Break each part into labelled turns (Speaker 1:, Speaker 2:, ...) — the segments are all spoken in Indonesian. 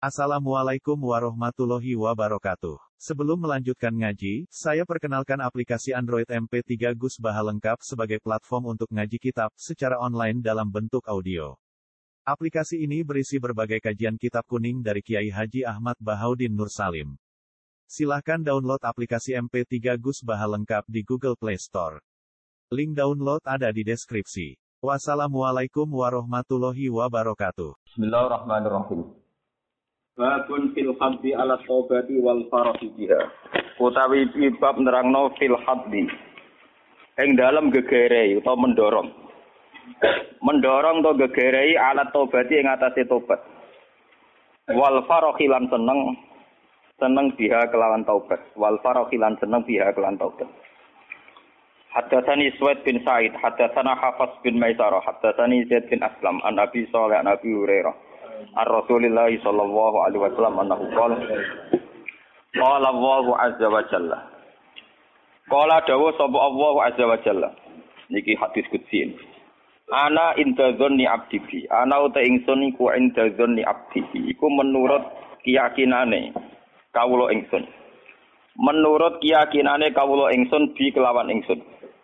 Speaker 1: Assalamualaikum warahmatullahi wabarakatuh. Sebelum melanjutkan ngaji, saya perkenalkan aplikasi Android MP3 Gus Baha lengkap sebagai platform untuk ngaji kitab secara online dalam bentuk audio. Aplikasi ini berisi berbagai kajian kitab kuning dari Kiai Haji Ahmad Bahaudin Nur Salim. Silahkan download aplikasi MP3 Gus Baha lengkap di Google Play Store. Link download ada di deskripsi. Wassalamualaikum warahmatullahi wabarakatuh.
Speaker 2: Bismillahirrahmanirrahim. Babun fil haddi ala taubati wal farahi biha. Utawi bab nerangno fil haddi. Ing dalem gegerei utawa mendorong. Mendorong to gegerei ala taubati ing atase tobat. Wal farahi lan seneng biha kelawan taubat. Wal farahi lan seneng biha kelawan taubat. Haddatsani Suwaid bin Sa'id, haddatsana Hafs bin Maisarah, haddatsani Zaid bin Aslam, an Abi Shalih an Abi Hurairah. Ar-Rasulillah sallallahu alaihi wasallam annahu qala Allahu azza wa jalla. Qala dawu sapa Allahu azza wa jalla. Niki hadis qudsi. Ana inda dzanni abdi bi. Ana uta ingsun iku inda dzanni abdi. Iku menurut keyakinane kawula ingsun. Menurut keyakinane kawula ingsun bi kelawan ingsun.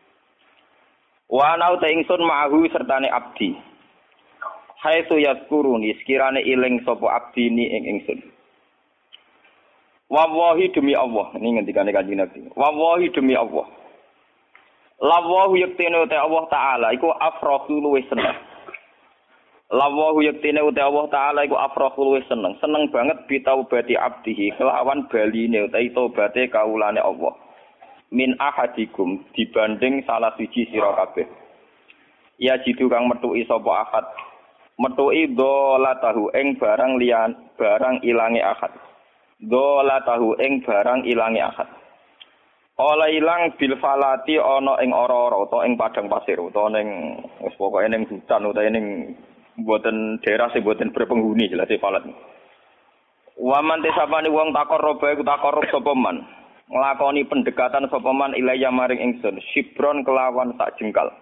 Speaker 2: Wa ana uta ingsun ma'ahu sertane abdi. Haitsu yazkuruni sekirane iling sapa abdi ni ing ingsun. Wallahi demi Allah, ini ngendikane Kanjeng Nabi. Wallahi demi Allah. Lawuhu yaktine uta Allah taala iku afrahu luwih seneng. Lawuhu yaktine uta Allah taala iku afrahu luwih seneng. Seneng banget bitaubati abdihi kelawan baline utawi tobaté kawulane Allah. Min ahadikum dibanding salah siji sira kabeh. Ya jitu kang metuki sapa ahad. Metuki dolatahu ing barang ilange akad. Dolatahu ing barang ilange akad. Ola ilang bil falati ana ing ora-ora utawa ing padang pasir utawa ning wis pokoke ning hutan utawa ning mboten daerah sing mboten berpenghuni jelas falat. Wa man tesapane wong takarrub iku takarrub sapa man. Nglakoni pendekatan sapa man ilaya maring ingsun sibron kelawan sak jengkal.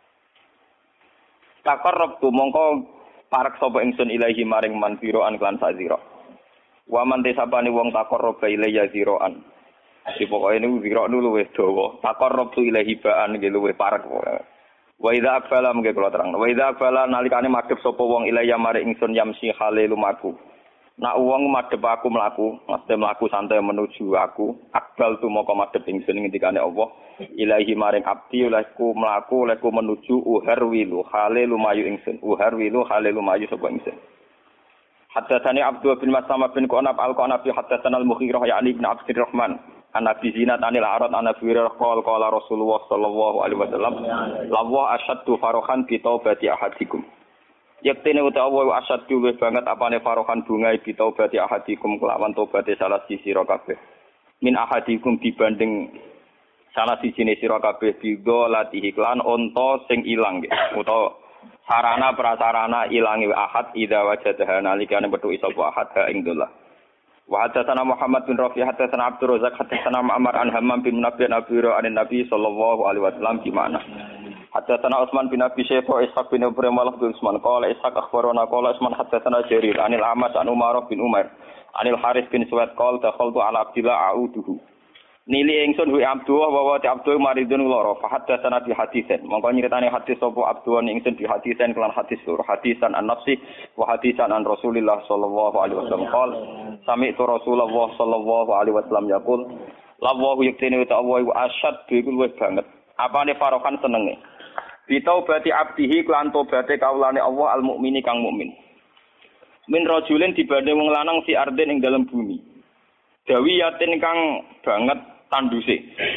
Speaker 2: Takarrub tu mongko parak sapa ingsun ilahi maring man biroan lan sazira. Wa man tesapane wong takarrub ilaya ziroan. Iki pokoke niku zira dulu wis dawa. Takarrub tu ilahi baan nggih luwih parak. Wa idza aqbala mengke kula terang. Wa idza aqbala nalikane madhep sapa wong ilaya maring ingsun yamsi hale lumaku. Nak wong madhep aku mlaku, mesti mlaku santai menuju aku. Akbal tu moko madhep ingsun ngendikane Allah. Ilahi maring abdi olehku mlaku olehku menuju uharwilu hale lumayu ingsun. Uharwilu hale lumayu sapa ingsun. Haddatsani Abdul bin Mas'amah bin Qanab al-Qanabi haddatsana al-Mughirah ya'ni ibn Abdurrahman. An Abi Zinad anil Arad an Abi Hurairah qala Rasulullah sallallahu alaihi wasallam lawa asyaddu farahan bi taubati ahadikum. Yaktine utawa asyaddu luwih banget apane farahan bunga bi taubati ahadikum kelawan tobaté salah siji sira kabeh. Min ahadikum dibanding salah siji sira kabeh bigo latihi lan unta sing ilang utawa sarana prasarana ilange ahad idza wajadaha nalikane metu sapa ahad ha ing dolah. Wa hadatsana Muhammad bin Rafi hadatsana Abdur Razzaq hadatsana Ma'mar an Hammam bin Nabi an-Nabi sallallahu alaihi wasallam di mana hadatsana Utsman bin Abi Syaibah Ishaq bin Ibrahim bin Utsman qala Ishaq akhbarana qala Utsman hadatsana Jarir anil Ahmad an Umar bin Umar anil Haris bin Suwaid qala dakhaltu ala Abdillah a'uduhu nili ingsun hu Abdullah wa Abdul maridun lara fa hadatsana bi haditsen mongko nyeritane hadis sapa Abdullah ingsun bi haditsen kelan hadis loro hadisan an-nafsi wa hadisan an Rasulillah sallallahu alaihi wasallam qala sami'tu Rasulullah sallallahu alaihi wasallam yaqul lawu yaktine ta Allah wa asyad iku luwih banget apane farokan senenge bitaubati abdihi kelan tobaté kawulane Allah al-mukmini kang mukmin min rajulin dibanding wong lanang fi ardin ing dalam bumi dawiyatin kang banget tanduse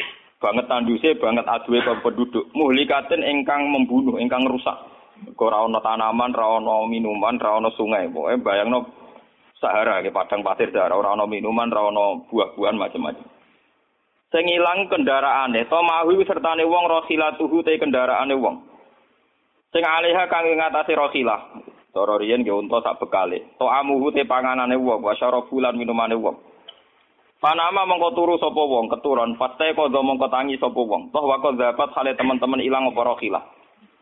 Speaker 2: banget aduwe penduduk muhlikatin ingkang membunuh ingkang rusak ora ana tanaman ora ana minuman ora ana sungai pokoke bayangno Sahara ke padang pasir Sahara ora ana minuman ora ana buah-buahan macam-macam sing ilang kendaraane to mahu sertane wong rokhilatuhu te kendaraane wong sing aliha kang ngatasi rokhilah cara riyen nggih unta sak bekale to amuhu te panganane wong wasyarabulan minumane wong Panama mongko turu sapa wong keturon paste kodho mongko tangi sapa wong toh wako zapat hale teman-teman ilang apa rokhilah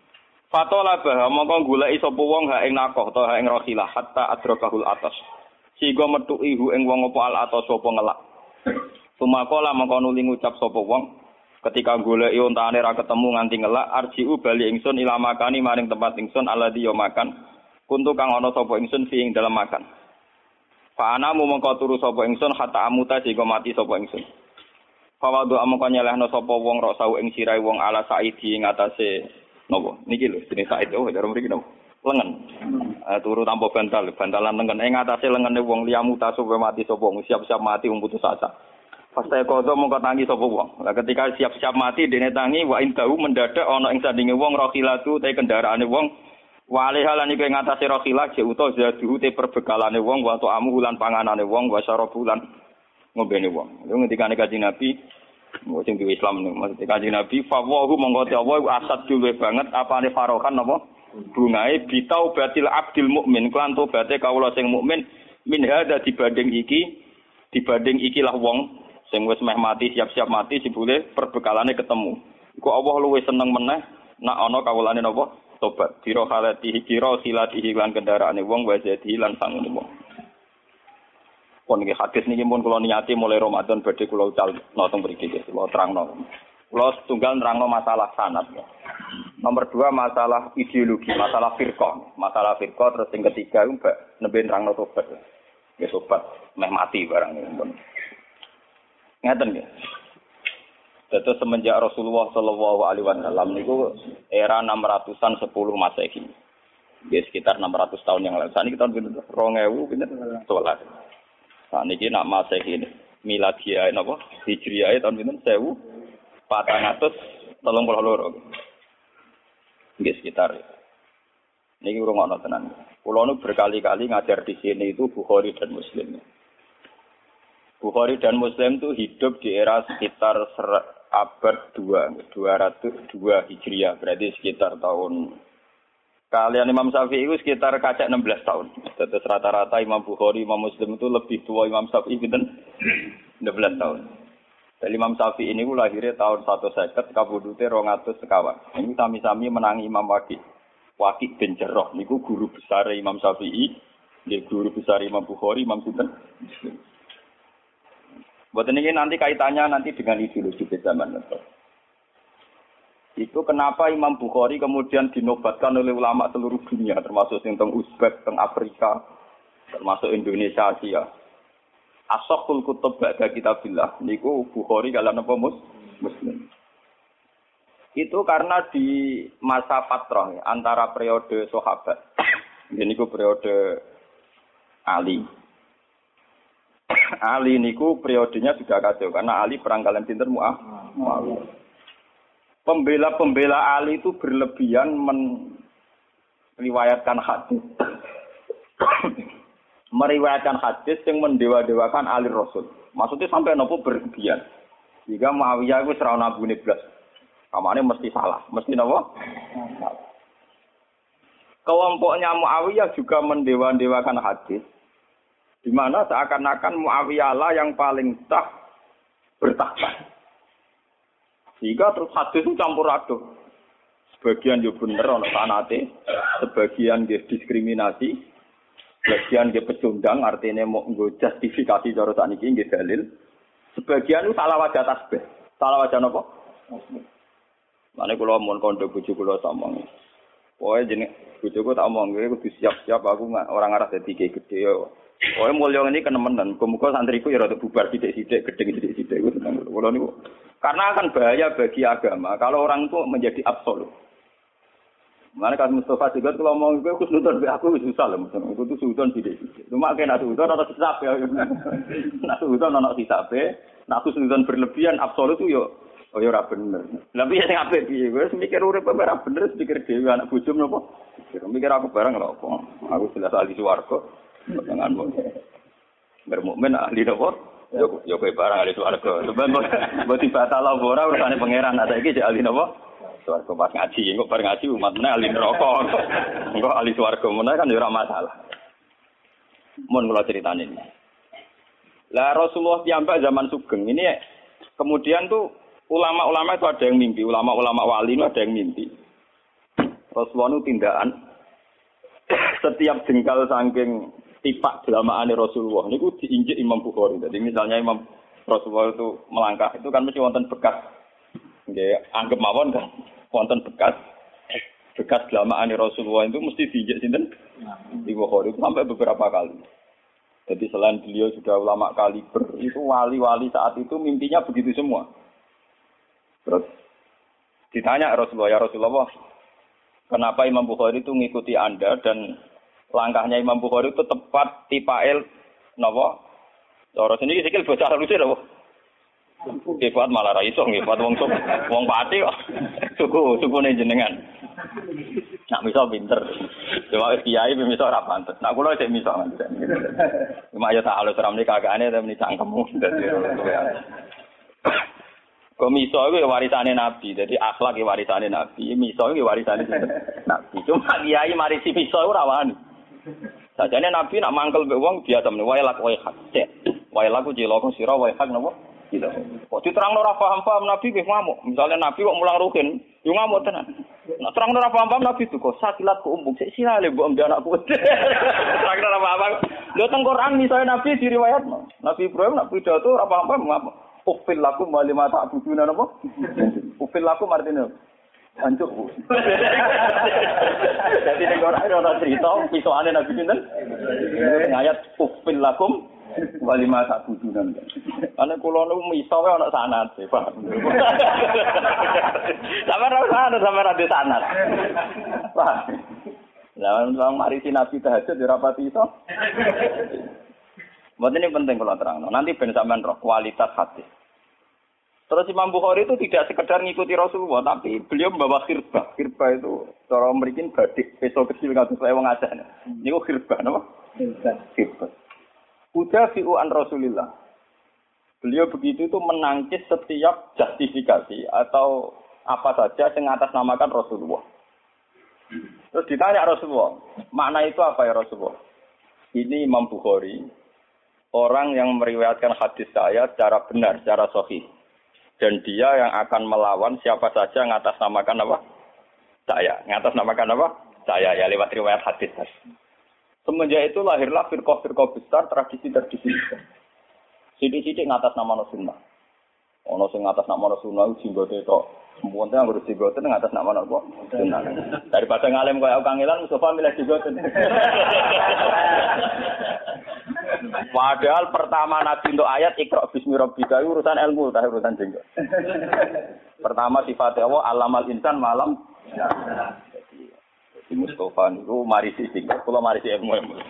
Speaker 2: Fatola bah mongko goleki sapa wong ha ing nakoh to ha ing rokhilah hatta adrakahul atas Sigo metuki hu ing wong apa al atas sapa ngelak. Sumakola mengko nuli ngucap sapa wong ketika goleki ontane ra ketemu nganti ngelak arjiu bali ingsun ila makani maring tempat ingsun alladhi yo makan. Kuntu kang ana sapa ingsun fi ing dalem makan. Fa ana mongko turu sapa ingsun hatta amuta sing mati sapa ingsun. Fawadu amangka nyelehno sapa wong rok sau ing sirahe wong ala saidi ing atase napa niki lho jenenge said cara mriki napa lengen turu tanpa bantalan lengen ing atase lengene wong liyamuta supaya mati sapa wong siap-siap mati wong putus asa. Pasti kodo mongko tangi sapa wong. Lah ketika siap-siap mati dene tangi wa indahu mendadak ana ing sandinge wong rokhilatu te kendaraane wong wale halan iku ing atase rokhilak je uta zaduhu te perbekalane wong wa amu lan panganane wong wa sarabulan ngombene wong. Lha ngendikane Kanjeng Nabi sing di Islam niku maksud Kanjeng Nabi fawahu mongko te Allah asad dulwe banget apane farokan napa bungae bitau batil abdil mukmin klan tobaté kawula sing mukmin min hada dibanding ikilah wong sing wis meh mati siap-siap mati jebule perbekalane ketemu. Iku Allah luwih seneng meneh nak ana kawulane napa tobat. Dira halati kira silatihi lan kendaraane wong wa jadi lan sangune wong. Pun iki hadis niki pun kula niati mulai Ramadan badhe kula ucal notong mriki kula terangno. Kula setunggal nerangno masalah sanad. Nomor 2 masalah ideologi, masalah firqah. Masalah firqah terus sing ketiga mbak nembe nerangno tobat. Ya tobat meh mati barang pun. Ngaten nggih. Dados semenjak Rasulullah sallallahu alaihi wasallam niku era 600-an 10 Masehi. Nggih sekitar 600 tahun yang lalu. Saniki tahun pinten? 2000 pinten? 11. Saniki nak Masehi ini. Miladiah napa? Hijriah tahun pinten? 1432. Nggih sekitar. Niki urung ana tenan. Kula nu berkali-kali ngajar di sini itu Bukhari dan Muslim. Bukhari dan Muslim itu hidup di era sekitar abad 202 Hijriah, berarti sekitar tahun kalian Imam Syafi'i itu sekitar kacak 16 tahun. Terus rata-rata Imam Bukhari, Imam Muslim itu lebih tua Imam Syafi'i pinten 16 tahun. Dan Imam Syafi'i ini lahirnya tahun 150, kabudute 200 sekawan. Ini sami-sami menangi Imam Waqi bin Jarrah niku guru besar Imam Syafi'i, dia guru besar Imam Bukhari, Imam Muslim. Buat ini nanti kaitannya nanti dengan ideologi zaman itu. Itu kenapa Imam Bukhari kemudian dinobatkan oleh ulama seluruh dunia, termasuk tentang Uzbek, tentang Afrika, termasuk Indonesia, Asia. Asahul kutub ba'da kitabillah. Niku Bukhari kalian apa Muslim. Itu karena di masa fatrah antara periode sahabat. Ini ku periode Ali. Ali niku periodenya sudah kacau karena Ali perang kalian pinter Muawiyah. Pembela-pembela Ali itu berlebihan meriwayatkan hadis. Meriwayatkan hadis yang mendewa-dewakan Ali Rasul. Maksudnya sampai nopo berlebihan. Jika Muawiyah itu serau nabune blas. Kamane mesti salah, mesti nopo? Kelompoknya Muawiyah juga mendewa-dewakan hadis. Di mana seakan-akan Muawiyah lah yang paling sah bertakhta. Sehingga terus hadis itu campur aduk. Sebagian yo bener ana sanate, sebagian nggih diskriminasi, sebagian nggih pecundang artinya mau nggo justifikasi cara sakniki nggih dalil. Sebagian itu salah wajah tasbih. Salah wajah napa? Mane kula mun kondo bojo kula samong. Pokoke jeneng bojoku tak omong kowe kudu siap-siap aku ora ngarah dadi gede yo. Oh, mulya ini kenemenan. Muga santriku ya rada bubar sithik-sithik, gedeng sithik-sithik iku tenang. Kula niku karena akan bahaya bagi agama kalau orang itu menjadi absolut. Mana kan Mustafa juga kalau ngomong gue khusnudon aku susah lah, itu tuh sudon sithik-sithik. Cuma kena sudon ana hisab ya. Nak sudon ana hisab, nak khusnudon berlebihan absolut itu yo ora bener. Lah piye sing apik piye? Wis mikir urip ora bener, pikir dhewe anak bojo menapa? Mikir aku barang lho apa. Aku jelas ahli swarga. Janganmu bermukmin ahli nopo yo kowe barang ahli swarga mbok dibatal ora urusane pangeran saiki jek ahli nopo swarga pas ngaji engko bar ngaji umat meneh ahli neraka engko ahli swarga meneh kan yo ora masalah mun kula critane ini lah Rasulullah piyambak zaman sugeng ini kemudian tuh ulama-ulama itu ada yang mimpi ulama-ulama wali itu ada yang mimpi Rasulullah itu tindakan setiap jengkal saking tipak jelamaane Rasulullah niku diinjek Imam Bukhari. Jadi misalnya Imam Rasulullah itu melangkah itu kan mesti wonten bekas. Nggih, anggap mawon kan wonten bekas jelamaane Rasulullah itu mesti diinjek sinten? Di Bukhari itu sampai beberapa kali. Jadi selain beliau sudah ulama kaliber, itu wali-wali saat itu mimpinya begitu semua. Terus ditanya Rasulullah, ya Rasulullah, kenapa Imam Bukhari itu ngikuti Anda dan langkahnya Imam Bukhari itu tepat tipael napa? Cara sini sikil bocah halusé lho. Nggih kuat malah ra iso nggih kuat wong pati kok. Sukune jenengan. Nak miso pinter. Cuma kiai miso ora pantes. Nak kula sik miso kan. Cuma ya tak halus ramne kagakane tapi cangkemmu dadi. Kok miso iku warisane Nabi. Jadi akhlak iki warisane Nabi. Miso iki warisane Nabi. Cuma kiai marisi miso ora wani. Sajane Nabi nak mangkel mbek wong biasa meneh wae lak wae hak. Wae laku cilaka sira wae hak napa? Gitu. Kok diterangno ora paham-paham Nabi nggih ngamuk. Misalnya Nabi kok mulang ruhin, yo ngamuk tenan. Nek terangno ora paham-paham Nabi itu kok sakilat ku umbung sik sirale mbok mbek anakku. Terangno ora paham. Lho teng Quran misalnya Nabi diriwayatno. Nabi Ibrahim nak pidato ora paham-paham ngamuk. Ufil lakum wa lima ta'buduna napa? Ufil lakum artinya hancur. Jadi nek ora ana cerita pisokane Nabi sinten? Ayat ufil lakum walima tak budunan. Ana kula niku miso wae ana sanad, Pak. Sampeyan ora sanad. Pak. Lah wong mari sinasi tahajud ora pati iso. Mboten ini penting kalau terang. Nanti ben sampean roh kualitas hati. Terus Imam Bukhari itu tidak sekedar ngikuti Rasulullah, tapi beliau membawa khirbah. Khirbah itu cara merikin badik, peso kecil kados saya wong Aceh. Niku khirbah napa? Khirbah. Udafi'u an Rasulillah. Beliau begitu itu menangkis setiap justifikasi atau apa saja yang atasnamakan Rasulullah. Terus ditanya Rasulullah, makna itu apa ya Rasulullah? Ini Imam Bukhari, orang yang meriwayatkan hadis saya secara benar, secara sahih. Dan dia yang akan melawan siapa saja yang atasnamakan apa? Saya. Yang atasnamakan apa? Saya, ya lewat riwayat hadis. Semenjak itu lahirlah firqah-firqah besar, tradisi-tradisi besar. Sidik-sidik ngatas nama sunnah. Ono sing ngatas nama sunnah jenggote tok. Mumpun yang ngurus jenggote ngatas nama apa? Sunnah. Daripada ngalem kaya kangelan Mustafa milih jenggote. Padahal pertama Nabi untuk ayat Iqra bismi rabbika urusan ilmu, tak urusan jenggot. Pertama sifat Allah alamal insan malam. Di Mustafa niku marisi singkat, kula marisi ilmu.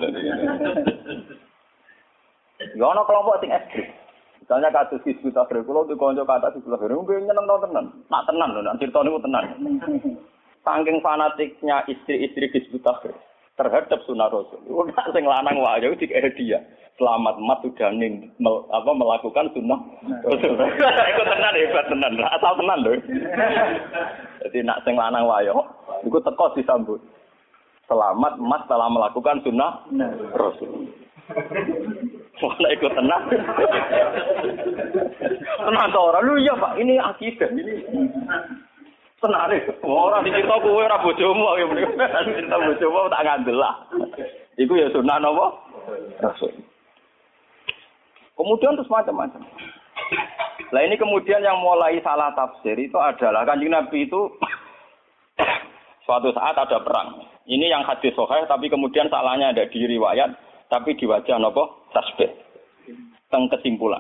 Speaker 2: Ya ana kelompok sing ekstrim. Misalnya kasus Hizbut Tahrir, kula di kanca kata Hizbut Tahrir, nyeneng tenan. Nak tenan lho, nak crita niku tenan. Saking fanatiknya istri-istri Hizbut Tahrir terhadap sunah Rasul. Ora sing lanang wae iku dikek dia. Selamat mat sudah melakukan sunnah Rasul. Iku tenan hebat tenan. Asal tenan lho. Jadi nak sing lanang wae iku teko disambut. Selamat mat telah melakukan sunnah Rasul. Wala ikut tenang. Tenang to ora. Lu iya Pak, ini akidah ini. Tenare. Ora dicerita kowe ora bojomu ya mrene. Cerita bojomu tak ngandel lah. Iku ya sunah napa? Rasul. Kemudian terus macam-macam. Lah ini kemudian yang mulai salah tafsir itu adalah Kanjeng Nabi itu suatu saat ada perang. Ini yang hadis sahih tapi kemudian salahnya ada di riwayat tapi di wajah napa? Tasbih. Teng kesimpulan.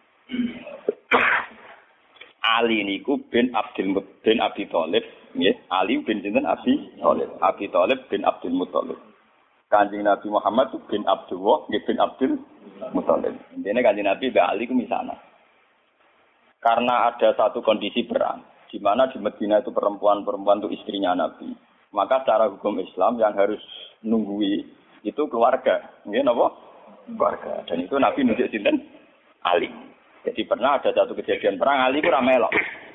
Speaker 2: Ali niku bin Abi Thalib, nggih. Ali bin sinten Abi Thalib. Abi Thalib bin Abdul Muthalib. Kanjeng Nabi Muhammad itu bin Abdullah, nggih bin Abdul Muthalib. Intine Kanjeng Nabi mbek Ali ku misana. Karena ada satu kondisi perang, di mana di Madinah itu perempuan-perempuan itu istrinya Nabi. Maka secara hukum Islam yang harus nunggui itu keluarga, nggih napa? Keluarga. Dan itu Nabi nunjuk sinten? Ali. Jadi pernah ada satu kejadian perang, Ali ku ra melok.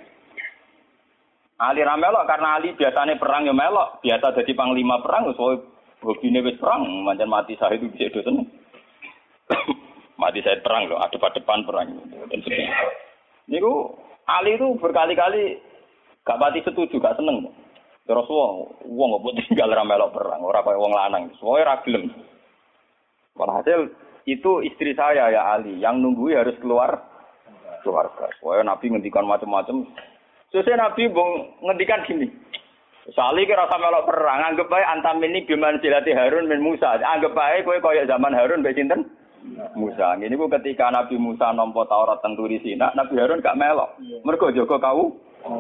Speaker 2: Ali ra melok karena Ali biasanya perang ya melok, biasa jadi panglima perang, so hobine wis perang, pancen mati syahid itu bisa dosen. Mati syahid perang loh, depan perang. Dan sebagainya. Niku Ali itu berkali-kali gak pati setuju, gak seneng. Terus wong kok tinggal ra melok perang, ora kaya wong lanang. Soale ra gelem. Walhasil itu istri saya ya Ali, yang nunggui harus keluarga. Soalnya Nabi ngendikan macam-macam. Sesuai Nabi ngendikan gini. Sali kira sama melok perang, anggap bae antam ini biman silati Harun bin Musa. Anggap bae kowe kaya zaman Harun mbek sinten? Musa. Ini ku ketika Nabi Musa nampa Taurat teng Turi Sina, Nabi Harun gak melok. Mergo jaga kau.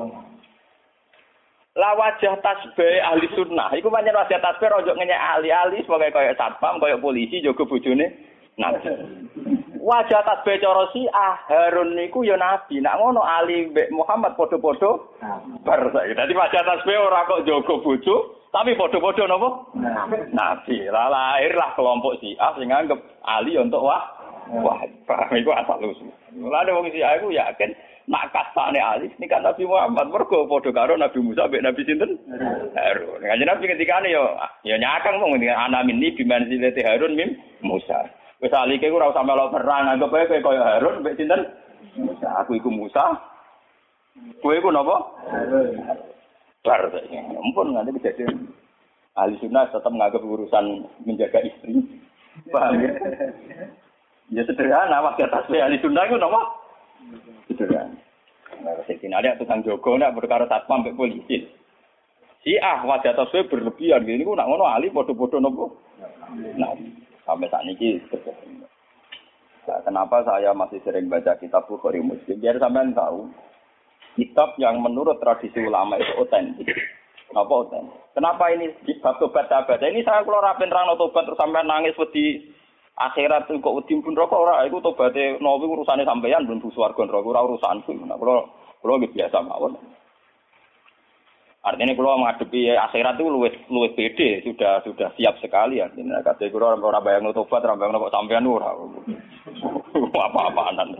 Speaker 2: La wajah tasbih ahli sunnah. Iku pancen wajah tasbih ojo ngenyek ahli sebagai kaya satpam, kaya polisi jaga bojone Nabi. Wajah tasbih cara Harun niku ya Nabi. Nak ngono Ali mbek Muhammad padha-padha bar saiki. Dadi wajah tasbih ora kok jaga bojo, tapi padha-padha napa? Nabi. Lah lahirlah kelompok Syiah sing nganggep Ali untuk wah paham iku asal usul. Lah wong Syiah iku yakin nak kastane Ali nika Nabi Muhammad mergo padha karo Nabi Musa mbek Nabi sinten? Harun. Kanjeng Nabi ketikane ya nyakang mung ana minni bimanzilati Harun mim Musa. Wis alike ku ora usah melok perang, anggap ae kowe kaya Harun mbek sinten? Musa. Aku iku Musa. Kowe iku napa? Harun. Bar saiki. Ampun nganti kejadian. Ahli sunnah tetap menganggap urusan menjaga istri. Paham ya? Ya sederhana, wajah tasbih ahli sunnah itu napa? Sederhana. Nah, sekin ada tukang jogo nak perkara satpam mbek polisi. Wajah tasbih berlebihan gini ku nak ngono ahli padha-padha napa? Nah, sampai saat ini nah, kenapa saya masih sering baca kitab Bukhari Muslim? Biar sampean tahu kitab yang menurut tradisi ulama itu otentik. Apa otentik? Kenapa ini bab tobat sahabat? Ini saya kalau rapin rano tobat terus sampean nangis wedi akhirat kok wedi pun rokok ora iku tobaté nawi urusane sampean ben swarga neraka ora urusanku. Nah, kula biasa mawon. Artinya kalau menghadapi akhirat itu luwes pede, sudah siap sekali ya. Artinya kata kalau orang bayang tobat, orang bayang kok sampean ora. Apa-apaan.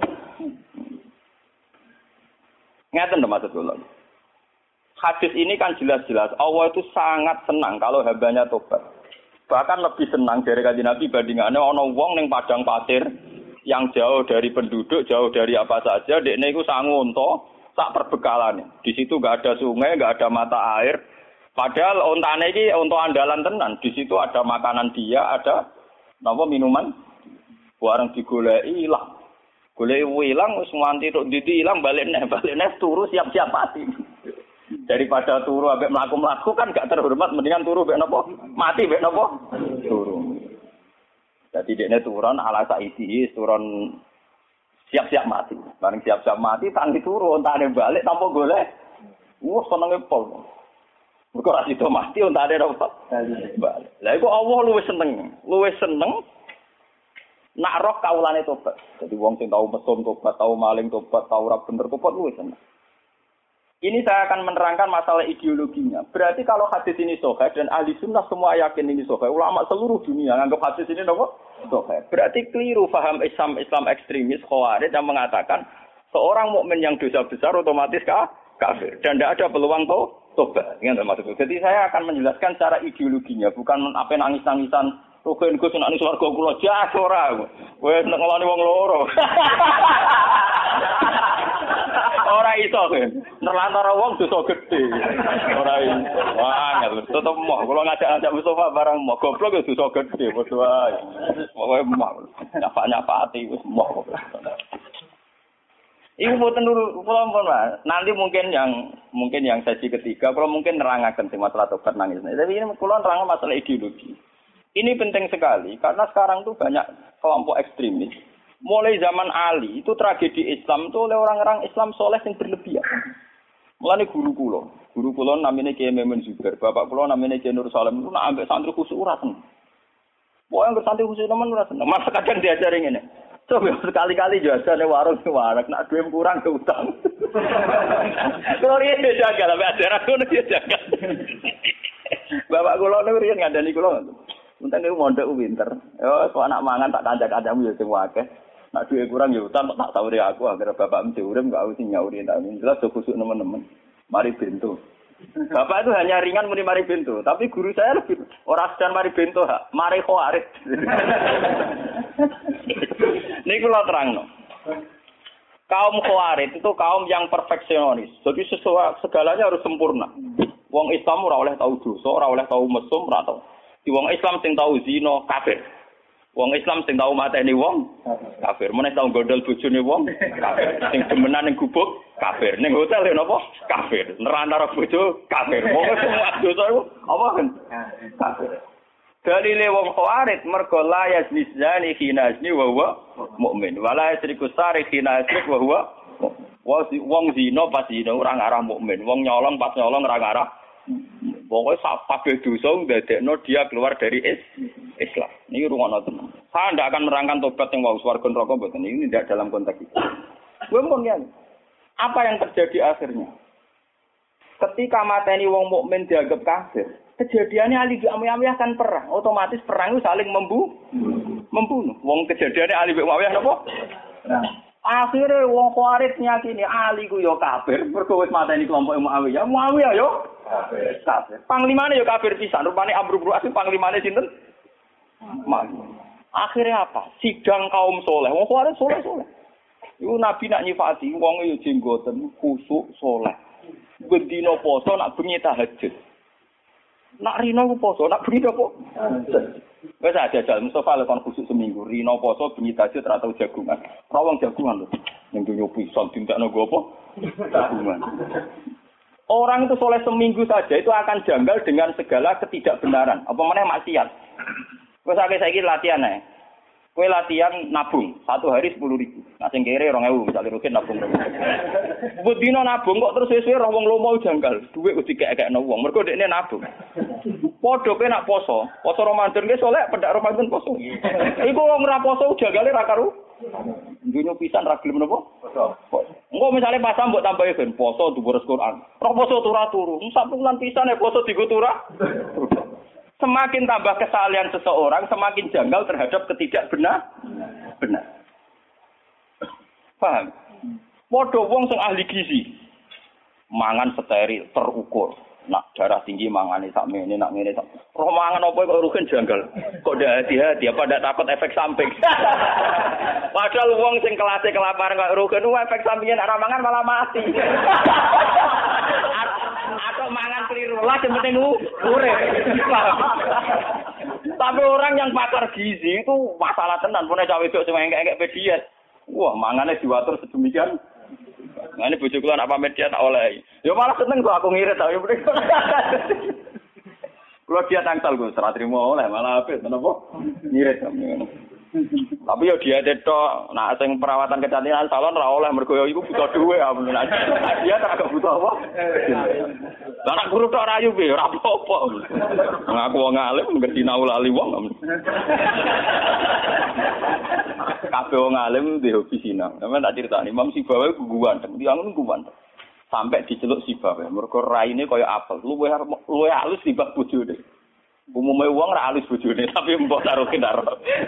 Speaker 2: Ngeten lho maksud kula. Hadis ini kan jelas-jelas Allah itu sangat senang kalau hambanya tobat. Bahkan lebih senang dari kanjeng Nabi bandingannya ana wong ning padang pasir yang jauh dari penduduk, jauh dari apa saja, dekne iku sangu unta sak perbekalan. Di situ enggak ada sungai, enggak ada mata air. Padahal ontane iki unta andalan tenan. Di situ ada makanan dia, ada napa minuman. Bareng digoleki ilang. Goleki ilang wis nganti tok nditi ilang balik neh turu siap-siap mati. Daripada turu ambek mlaku-mlaku kan gak terhormat, mendingan turu mbek napa? Mati mbek napa? Turu. Jadi dekne turun ala saiki turun siap-siap mati. Bareng siap-siap mati tangi turu ontane balik tanpa golek. Senenge pol. Mergo ra sida mati ontane apa? Balik. Lah iku Allah luwih seneng nak roh kawulane tobat. Jadi wong sing tau mesum tobat, tau maling tobat, tau ora bener tobat luwih seneng. Ini saya akan menerangkan masalah ideologinya. Berarti kalau hadis ini sahih dan ahli sunnah semua yakin ini sahih, ulama seluruh dunia anggap hadis ini apa? Sahih. Berarti keliru paham Islam ekstremis Khawarij yang mengatakan seorang mukmin yang dosa besar otomatis kafir dan tidak ada peluang tobat. Ingat maksudku. Jadi saya akan menjelaskan secara ideologinya, bukan apa nangis-nangisan Rugen Gus nek swarga kula jas ora. Wis nek ngeloni wong loro. Ora iso kan. Nerlantara wong dosa gedhe. Ora iso. Wah, tetep moh kula ngajak Mustofa barang moh goblok ya dosa gedhe padha wae. Pokoke moh. Nyapa-nyapati wis moh. Iku mboten kula pun nanti mungkin yang sesi ketiga kalau mungkin nerangaken masalah tobat nangis. Tapi ini kula nerang masalah ideologi. Ini penting sekali karena sekarang tuh banyak kelompok ekstremis. Mulai zaman Ali itu tragedi Islam itu oleh orang-orang Islam soleh yang berlebihan. Mulane guru kula namanya Kiai Memun Zubair, bapak kula namanya Kiai Nur Salim itu nak ambek santri khusus ora seneng. Pokoke ambek santri khusus temen ora seneng. Masa kadang diajari ngene. Coba sekali-kali jajane warung nak duwe kurang ke utang. Kalau riyen jaga lah ajaran ngono dia jaga. Bapak kula niku riyen ngandani kula. Unten niku mondok pinter. Yo kok anak mangan tak kancak-kancamu yo sing akeh. Nak duwe kurang yo utang tak sawuri aku agar bapak mesti urip enggak usah nyauri tak jelas do kusuk teman-teman. Mari bento. Bapak itu hanya ringan muni mari bento, tapi guru saya lebih ora sedan mari bento, mari khawarit. Niku lho terangno. Kaum khawarit itu kaum yang perfeksionis. Jadi segalanya harus sempurna. Wong Islam ora oleh tahu dosa, ora oleh tahu mesum, ora tahu. Di wong Islam sing tahu zina kafir. Wong Islam sing tau mateni wong kafir. Meneh tau gondol bojone wong kafir. Sing demenan ning gubuk kafir. Ning hotel ya napa? Kafir. Nerana bojo kafir. Wong semua dosa iku apa kan? Kafir. Dalile wong khawarit mergo la yazni zani khina yazni wa huwa mukmin. Wala yasriku sari khina yasrik wa huwa wong zina pas zina ora ngarah mukmin. Wong nyolong pas nyolong ora ngarah. Pokoke kabeh dosa ndadekno dia keluar dari Islam. Ini rungono tenan. Saya tidak akan merangkan tobat yang wau swarga neraka mboten. Ini tidak dalam konteks itu. Kemudian apa yang terjadi akhirnya? Ketika mateni wong mukmin dianggap kafir, kejadiannya Ali bin Muawiyah kan perang. Otomatis perang itu saling membunuh. Wong kejadiannya Ali bin Muawiyah napa? Akhirnya wong Khawarij nyakini Ali ku yo kafir, mergo wis mateni kelompok Muawiyah. Muawiyah yo kafir. Panglimane yo kafir pisan. Rupane Amr bin As panglimane sinten? Akhirnya apa? Sidang kaum soleh. Wong Khawarij soleh. Iku Nabi nak nyifati wong yo jenggoten khusuk soleh. Bendina poso nak bengi tahajud. Nak rino ku poso, nak bengi apa? Wes aja jal Mustafa lekon khusuk seminggu. Rino poso bengi tahajud ora tau jagungan. Ora wong jagungan lho. Ning dunya pisan tintakno go apa? Jagungan. Orang itu soleh seminggu saja itu akan janggal dengan segala ketidakbenaran. Apa meneh maksiat. Wes saiki latihan ae. Kowe latihan nabung, 1 hari 10.000. Nah sing kere 2.000, misale rugen nabung. Budino nabung kok terus suwe-suwe roh wong lomo janggal. Dhuwit kudu dikek-kekno wong. Mergo dekne nabung. Padha kowe nak poso Ramadan ki soleh pendak Ramadan poso. Iku wong ora poso janggale ra karo dunyo pisan ra gelem napa? Poso. Engko misale pasang mbok tambahi ben poso dhuwur Quran. Roh poso turu. Sak bulan pisan poso digo turah. Semakin tambah kesalahan seseorang, semakin janggal terhadap ketidakbenar. Paham? Padha wong sing ahli gizi. Mangan steril, terukur. Nak darah tinggi mangane sak mene, nak ngene sak. Roh mangan apa kok rugen janggal. Kok ndak hati-hati apa ndak takut efek samping. Padahal wong sing kelase kelaparan kok rugen efek sampingnya nek ora mangan malah mati. Atau mangan keliru lah yang penting urip. Tapi orang yang pakar gizi itu masalah tenan. Punya cawe wedok sing engke-engke diet. Wah, mangane diwatur sedemikian. Ngene bojo kula nak pamit diet tak oleh. Ya malah seneng kok aku ngirit ta. Kula diet angsal Gus, ora trimo oleh malah apik menapa? Ngirit ngono. Tapi yo dia tetok, nak sing perawatan kecantikan salon ora oleh mergo yo iku butuh dhuwit amun. Dia tak agak butuh apa? Lah nak guru tok rayu piye ora apa-apa. Ngaku wong alim ngerti naulali wong. Kabeh wong alim di hobi sinau. Sampe tak critani Imam Sibawi guguan, tiyang guguan. Sampai diceluk Sibawi mergo raine kaya apel. Luwih halus timbang bojone. Umumnya uang ra alus bojone tapi mbok taruh kendaro.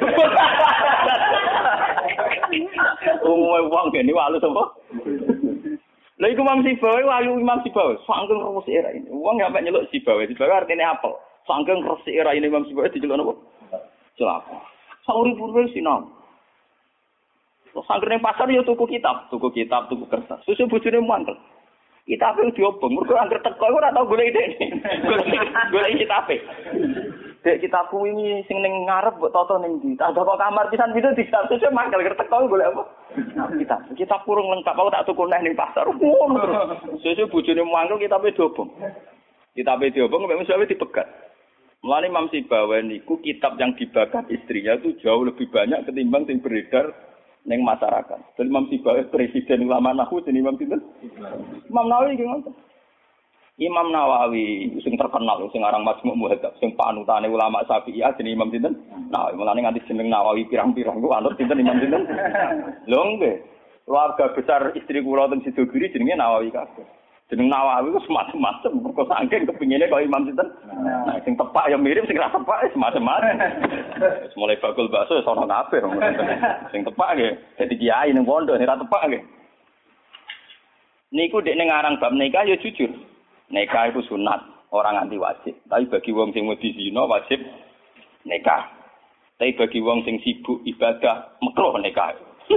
Speaker 2: Umumnya uang gene alus apa? Lha iku Imam Sibawi wayu Imam Sibawi saking resik era ini. Wong sampe nyeluk Sibawi artine apel. Saking resik era ini Imam Sibawi diceluk napa? Celaka. Saurip-uripe sinau. Terus sanggene pasar yo tuku kitab, tuku kertas. Susu bojone mantel. Kitabe diobong, mergo anggere teko ora tau golek dekne. Golek kitabe. Dek kitabku ini sing ning ngarep mbok toto ning ndi? Tak kok kamar pisan itu disatu mangkel teko golek apa? Kitab kurung lengkap aku tak tuku neh ning pasar. Ngono terus. Sesuk bojone mangkel kitabe diobong. Kitabe diobong mek mesti dipegat. Mulane Imam Sibawi niku kitab yang dibakar istrinya itu jauh lebih banyak ketimbang sing beredar ning masyarakat. Dan Imam Sibawi presiden ulama nahwu jenenge Imam sinten? Imam Nawawi iki ngoten. Imam Nawawi sing terkenal sing aran Majmu' Muhadzab sing panutane ulama Syafi'iyah jenenge Imam sinten? Nawawi. Mulane nganti jeneng Nawawi pirang-pirang ku anut sinten Imam sinten? Lho nggih. Keluarga besar istri kula teng Sidogiri jenenge Nawawi kabeh. Jeneng Nawawi ku semacam-macam mergo saking kepingine kaya Imam sinten. Nah, sing tepak ya mirip sing ra tepak semacam-macam. Wis mulai bakul bakso wis ana kabeh. Sing tepak nggih dadi kiai ning pondok sing ra tepak nggih. Niku dekne ngarang bab nikah ya jujur. Nikah itu sunat, orang anti wajib. Tapi bagi wong sing wedi zina wajib nikah. Tapi bagi wong sing sibuk ibadah makruh nikah.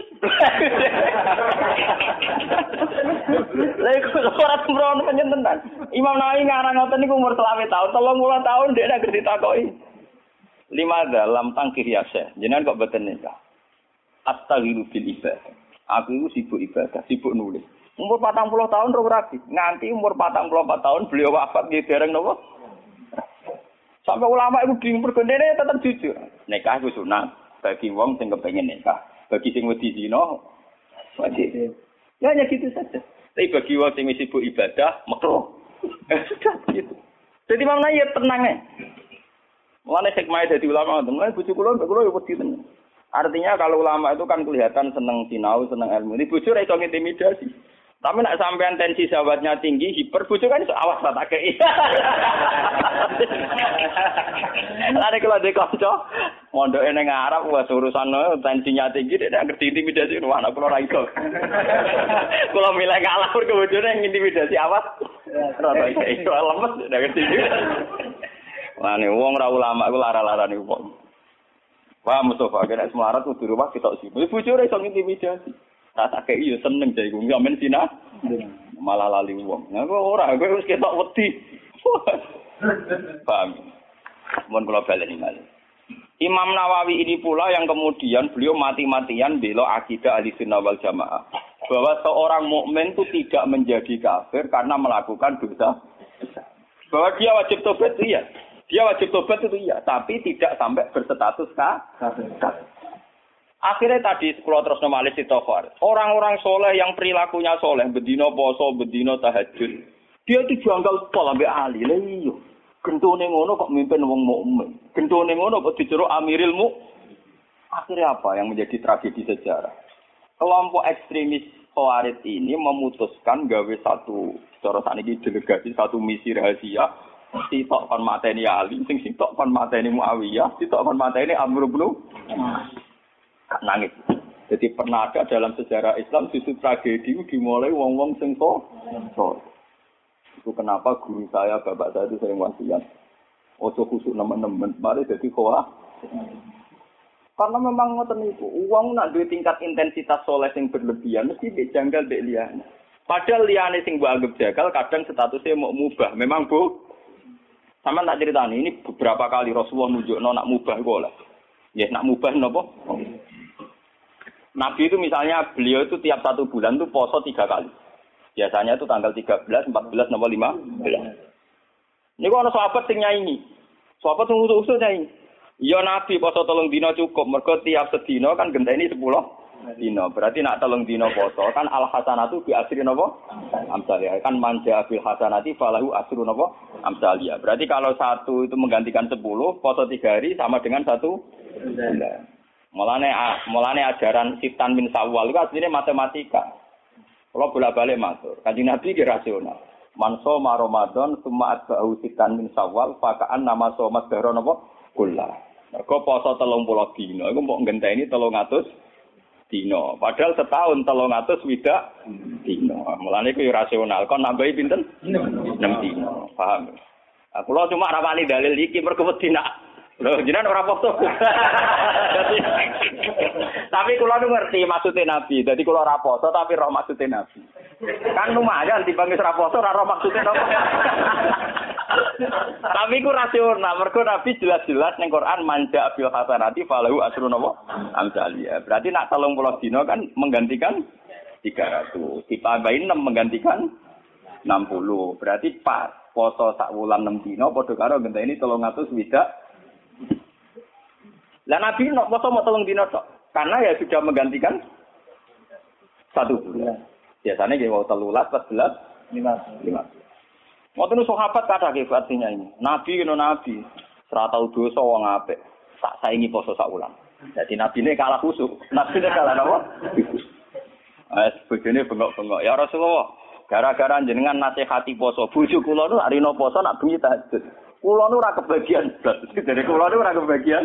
Speaker 2: Lha iku ora sembrono panjenengan. Imam Nawawi ngarang ngoten niku umur 30 tahun, 30 tahun dhek nek ditakoki. Lima dalam tangkir yasa. Jenengan kok boten nikah. Astaghiru bil ibadah. Aku itu sibuk ibadah, sibuk nulis. Umur 40 tahun roh rabi. Nganti umur 44 tahun beliau wafat nggih dereng napa? Sampai ulama itu bingung pergondene tetap jujur. Nikah itu sunat bagi wong sing kepengin nikah. Bagi sing wedi zina wajib. Ya hanya gitu saja. Tapi bagi wong sing sibuk ibadah makruh. Sudah gitu. Jadi mana ya tenang ya. Mulane hikmah dadi ulama, mulane bojo kula yo wedi tenan. Artinya kalau ulama itu kan kelihatan seneng sinau, seneng ilmu. Ini bojo ra iso intimidasi. Tapi nak sampean tensi sahabatnya tinggi, hiper bojo kan iso awas tak kei. Lare kalau de kanca mondoke ning Arab wis urusan tensinya tinggi nek ngerti intimidasi wah anak kula ra iso. Kula milih kalah ke bojone intimidasi awas. Ora iso lemes nek ngerti. Wane wong ra ulama iku lara-larane wong. Wah Mustafa kena semarat kudu rumah kita sih. Bojo ora iso intimidasi. Tak kei yo seneng jare ku ngamen sina. Malah lali wong. Nah ora kowe wis ketok wedi. Paham. Mun kula baleni malih. Imam Nawawi ini pula yang kemudian beliau mati-matian bela akidah Ahlussunnah wal Jamaah. Bahwa seorang mukmin itu tidak menjadi kafir karena melakukan dosa. Bahwa dia wajib tobat iya. Dia wajib tobat itu iya, tapi tidak sampai berstatus kafir. Akhirnya tadi kalau terus normalis istighfar. Orang-orang soleh yang perilakunya soleh, bedino poso, bedino tahajud, dia itu janggal pol ambek ahli. Lah iya. Gentone ngono kok mimpin wong mukmin. Gentone ngono kok dijeruk amiril mu. Akhirnya apa yang menjadi tragedi sejarah? Kelompok ekstremis Khawarij ini memutuskan gawe satu cara sakniki delegasi satu misi rahasia. Sitok kon mateni Ali, sing sitok kon mateni Muawiyah, sitok kon mateni Amr bin nangis. Jadi pernah ada dalam sejarah Islam justru tragedi dimulai wong-wong sing so. Itu kenapa guru saya, bapak saya itu sering wasiat. Ojo khusuk nemen-nemen, mari jadi khawatir. Karena memang ngoten niku, wong nak duwe tingkat intensitas soleh sing berlebihan mesti mbek janggal mbek liyane. Padahal liyane sing mbok anggap jagal kadang statusnya mau mubah. Memang Bu. Sama tak ceritani ini beberapa kali Rasulullah nunjukno nak mubah iku oleh. Ya nak mubah napa? Nabi itu misalnya beliau itu tiap 1 bulan itu poso 3 kali. Biasanya itu tanggal 13, 14, nomor 15. Ini kok ana sahabat sing nyaingi. Sahabat sing usul-usul nyaingi. Ya Nabi poso 3 dina cukup. Mergo tiap sedina kan genteni 10 dina. Berarti nak 3 dina poso kan al hasanatu bi asri napa? Amsalih. Kan manja bil hasanati falahu asru napa? Amsalih. Berarti kalau 1 itu menggantikan 10, poso 3 hari sama dengan 1 bulan. Mulane ajaran Sitan min Sawal itu aslinya matematika. Kalau bolak-balik matur, Kanjeng Nabi ki rasional. Man shoma Ramadan summa atba'u Sitan min Sawal fakaan nama somat dahra napa? Kullah. Mergo poso 30 dina iku mbok ngenteni 300 dina. Padahal setahun 300 swidak dina. Mulane iku rasional. Kon nambahi pinten? 6 dina. Paham? Aku lho cuma ora wani dalil iki mergo wedi nak lho jenengan ora poso. Tapi kula nu ngerti maksudnya Nabi. Dadi kula ora poso tapi roh maksudnya Nabi. Kan lumayan dibangis ora poso ora roh maksudnya napa. Tapi ku rasional mergo Nabi jelas-jelas ning Quran manja bil hasanati falahu asrun napa amsalia. Berarti nak 30 dina kan menggantikan 300. Ditambahin 6 menggantikan 60. Berarti pas poso sak wulan 6 dina padha karo ngenteni 300 swidak. Lah Nabi nok poso mau 3 dina tok. Karena ya sudah menggantikan 1 bulan. Biasanya nggih wau 13, 14, 15. Ngoten sahabat kata nggih artinya ini. Nabi kena nabi, ora tau dosa wong apik. Tak saingi poso sak wulan. Jadi nabine kalah khusuk. Nabine kalah napa? Bojone bengok-bengok. Ya Rasulullah, gara-gara jenengan nasihati poso, bojo kula nu arino poso nak bengi tahajud. Kula nu ora kebagian. Dari kula nu ora kebagian.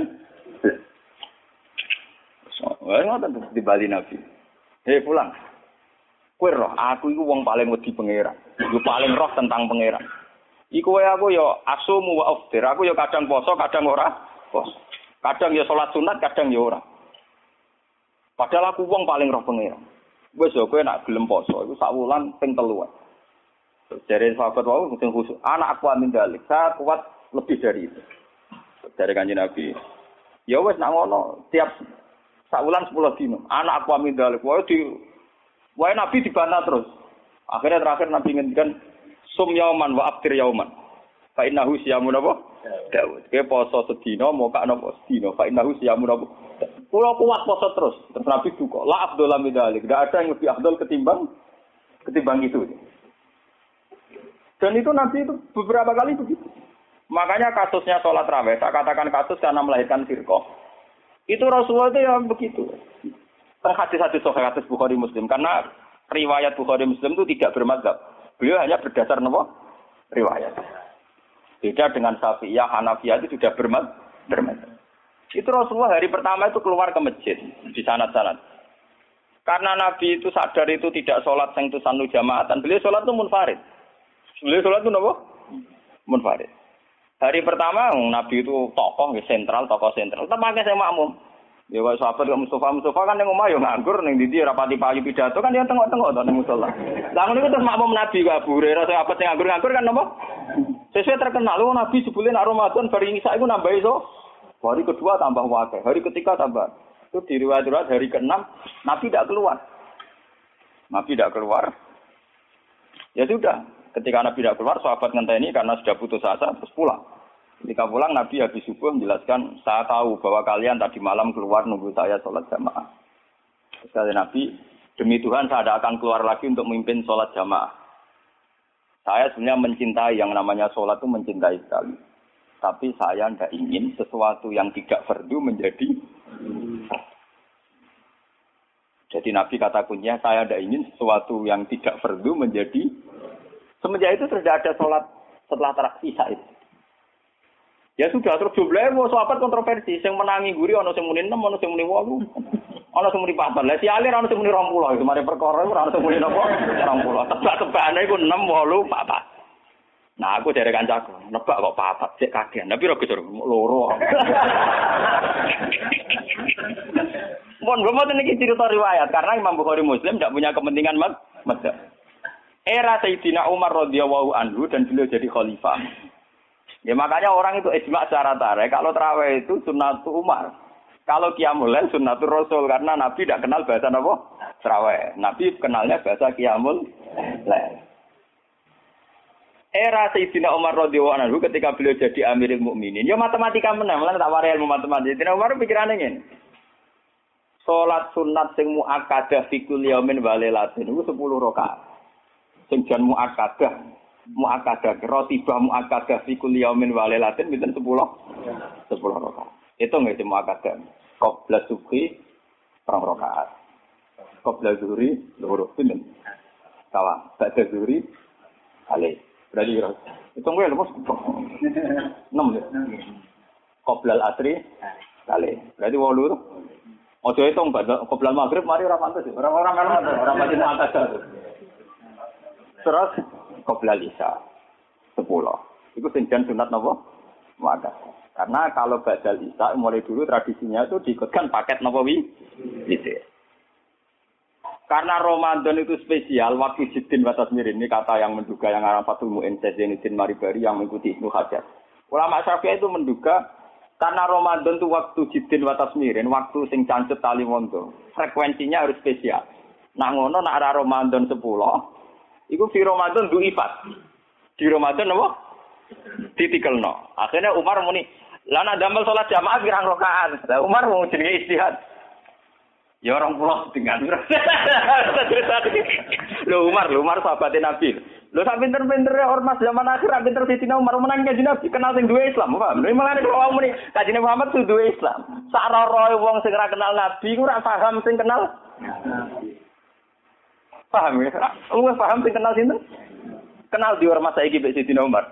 Speaker 2: Wah, ngoten di Bali Nabi. Hei pulang. Kowe roh, aku iku wong paling wedi pangeran. Yo paling roh tentang pangeran. Iku wae aku yo asumu wa aftir. Aku yo kadang poso, kadang ora. Poso. Kadang yo salat sunat, kadang yo ora. Padahal aku wong paling roh pangeran. Wis yo kowe nak gelem poso iku sak wulan ping 3. Jare sahabat wau sing khusus. Anak aku amin dalik. Saya kuat lebih dari itu. Dari Kanjeng Nabi. Ya wis nak ngono, tiap saulan 10 dino. Anak aku amin dalik. Wae Nabi dibantah terus. Akhirnya terakhir Nabi ngendikan sum yauman wa aftir yauman. Fa innahu siyamun apa? Daud. Ke poso sedina moka napa sedina. Fa innahu siyamun apa? Kula kuat poso terus. Terus Nabi duka. La afdal min dalik. Enggak ada yang lebih afdal ketimbang itu. Dan itu Nabi itu beberapa kali begitu. Makanya kasusnya sholat raweh, saya katakan kasus karena melahirkan firqah. Itu Rasulullah itu yang begitu. Hadis-hadis sahih hadis Bukhari Muslim. Karena riwayat Bukhari Muslim itu tidak bermadzhab. Beliau hanya berdasar apa? Riwayat. Beda dengan Syafi'iyah, Hanafiyah itu sudah bermadzhab. Itu Rasulullah hari pertama itu keluar ke masjid di sanad-sanad. Karena Nabi itu sadar itu tidak sholat sing tusanu jamaatan. Beliau sholat itu munfarid. Beliau sholat itu apa? Munfarid. Hari pertama Nabi itu tokoh sentral. Tempatnya saya makmum. Ya kok sahabat kok Mustafa kan yang omah yo nganggur ning ndi rapati payu pidato kan ya tengok-tengok to ning musala. Lah ngono iku terus makmum Nabi kok Abu Hurairah sahabat sing nganggur kan napa? Sesuai terkenal Nabi sebelum Ramadan bari isa iku nambah iso. Hari kedua tambah wakil, hari ketiga tambah. Itu di riwayat hari ke-6 Nabi tidak keluar. Ya sudah, ketika Nabi tidak keluar, sahabat ngenteni karena sudah putus asa terus pulang. Ketika pulang Nabi habis subuh menjelaskan, saya tahu bahwa kalian tadi malam keluar nunggu saya sholat jamaah. Sekali Nabi, demi Tuhan saya tidak akan keluar lagi untuk memimpin sholat jamaah. Saya sebenarnya mencintai yang namanya sholat itu mencintai sekali. Tapi saya tidak ingin sesuatu yang tidak fardu menjadi. Jadi Nabi kata kuncinya, saya tidak ingin sesuatu yang tidak fardu menjadi. Semenjak itu tidak ada sholat setelah isya itu. Ya sudah, terus jumlahnya mau sahabat kontroversi. Yang menangi guri, ada yang muni 6, ada yang muni 8, ada yang muni 4. Lah si alir ada yang muni 20. Itu mari perkara itu ada yang muni 20. Tebak-tebakane iku 6, 8, 4. Nah aku dari kancaku, nebak kok 4, cek kagian. Tapi ora geser loro. Mohon belum ini cerita riwayat karena Imam Bukhari Muslim tidak punya kepentingan madzhab. Era Sayyidina Umar radhiyallahu anhu dan beliau jadi khalifah. Ya makanya orang itu ijma secara tarik. Kalau tarawih itu sunnatul Umar. Kalau qiyamul lail sunnatul Rasul karena Nabi tidak kenal bahasa apa? Tarawih. Nabi kenalnya bahasa qiyamul lail. Era Sayyidina Umar radhiyallahu anhu ketika beliau jadi Amirul Mukminin, ya matematika menang, lan tak wari ilmu matematika. Sayyidina Umar pikirane ngene. Salat sunat sing muakkadah fi kulli yaumin wa lailatin iku 10 rakaat. Sing jan muakkadah rotibah muakkadah fi kulli yaumin wa lailatin pinten 10 rakaat. Itu nggih sing muakkadah. Qabla subhi 2 rakaat. Qabla zuhri 2 pinten. Sawa, ba'da zuhri kali. Berarti itu nggih lho Mas. 6 ya. Qabla al-asri kali. Berarti 8 to. Ojo hitung qabla maghrib mari ora pantes. Orang-orang kan ora pasti muakkadah. Terus qabla isya 10. Iku sing jan sunat napa? Muakkadah. Karena kalau ba'dal isya mulai dulu tradisinya itu diikutkan paket napa gitu. Karena Ramadan itu spesial waktu Jiddin wa Tasmirin ini kata yang menduga yang arah Fathul Mu'in Zainuddin Maribari yang mengikuti Ibnu Hajar. Ulama Syafi'i itu menduga karena Ramadan itu waktu Jiddin wa Tasmirin, waktu sing cancet tali mondo, frekuensinya harus spesial. Nah ngono nak arah Ramadan 10 iku fi Ramadan du'ifat. Di Ramadan apa? Ditikelno. Akhirnya Umar muni, "Lah nek damel salat jamaah pirang rakaat?" Lah Umar mau jenenge istihad. Ya orang pulau dengan. Lho Umar sahabatnya Nabi. Lho sak pinter-pintere ormas zaman akhir pinter Sayyidina Umar menang kanjeng Nabi kenal sing duwe Islam, paham? Lha malah nek wong muni kanjeng Muhammad kudu duwe Islam. Sak roroe wong sing ora kenal Nabi ku ora paham sing kenal. Paham ya? Lu paham sing kenal sinten? Kenal di ormas saiki mbek Sayyidina Umar.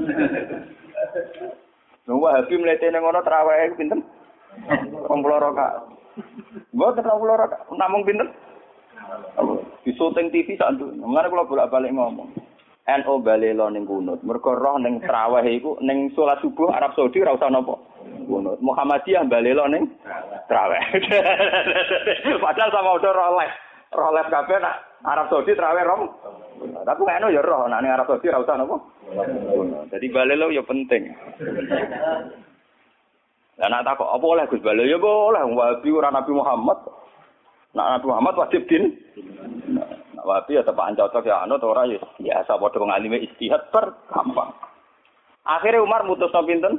Speaker 2: Lho Wahabi mletene ngono traweh pinten? 20 rakaat. Mboten 20 rakaat, namung pinten? Di syuting TV sak nduk. Mengane kula bolak-balik ngomong. NU balelo ning kunut. Mergo roh ning traweh iku ning salat subuh Arab Saudi ora usah napa. Kunut. Muhammadiyah balelo ning traweh. Padahal sama udah roh les kabeh nak Arab Saudi traweh rom. Tapi NU ya roh nak ning Arab Saudi ora usah napa. Jadi balelo ya penting. Lah nak takok apa oleh Gus Bala ya boleh Wahabi ora Nabi Muhammad. Nak Nabi Muhammad wajib din. Nak Wahabi ya tepak cocok ya anut ora ya biasa padha wong alime ijtihad gampang. Akhirnya Umar mutusno pinten?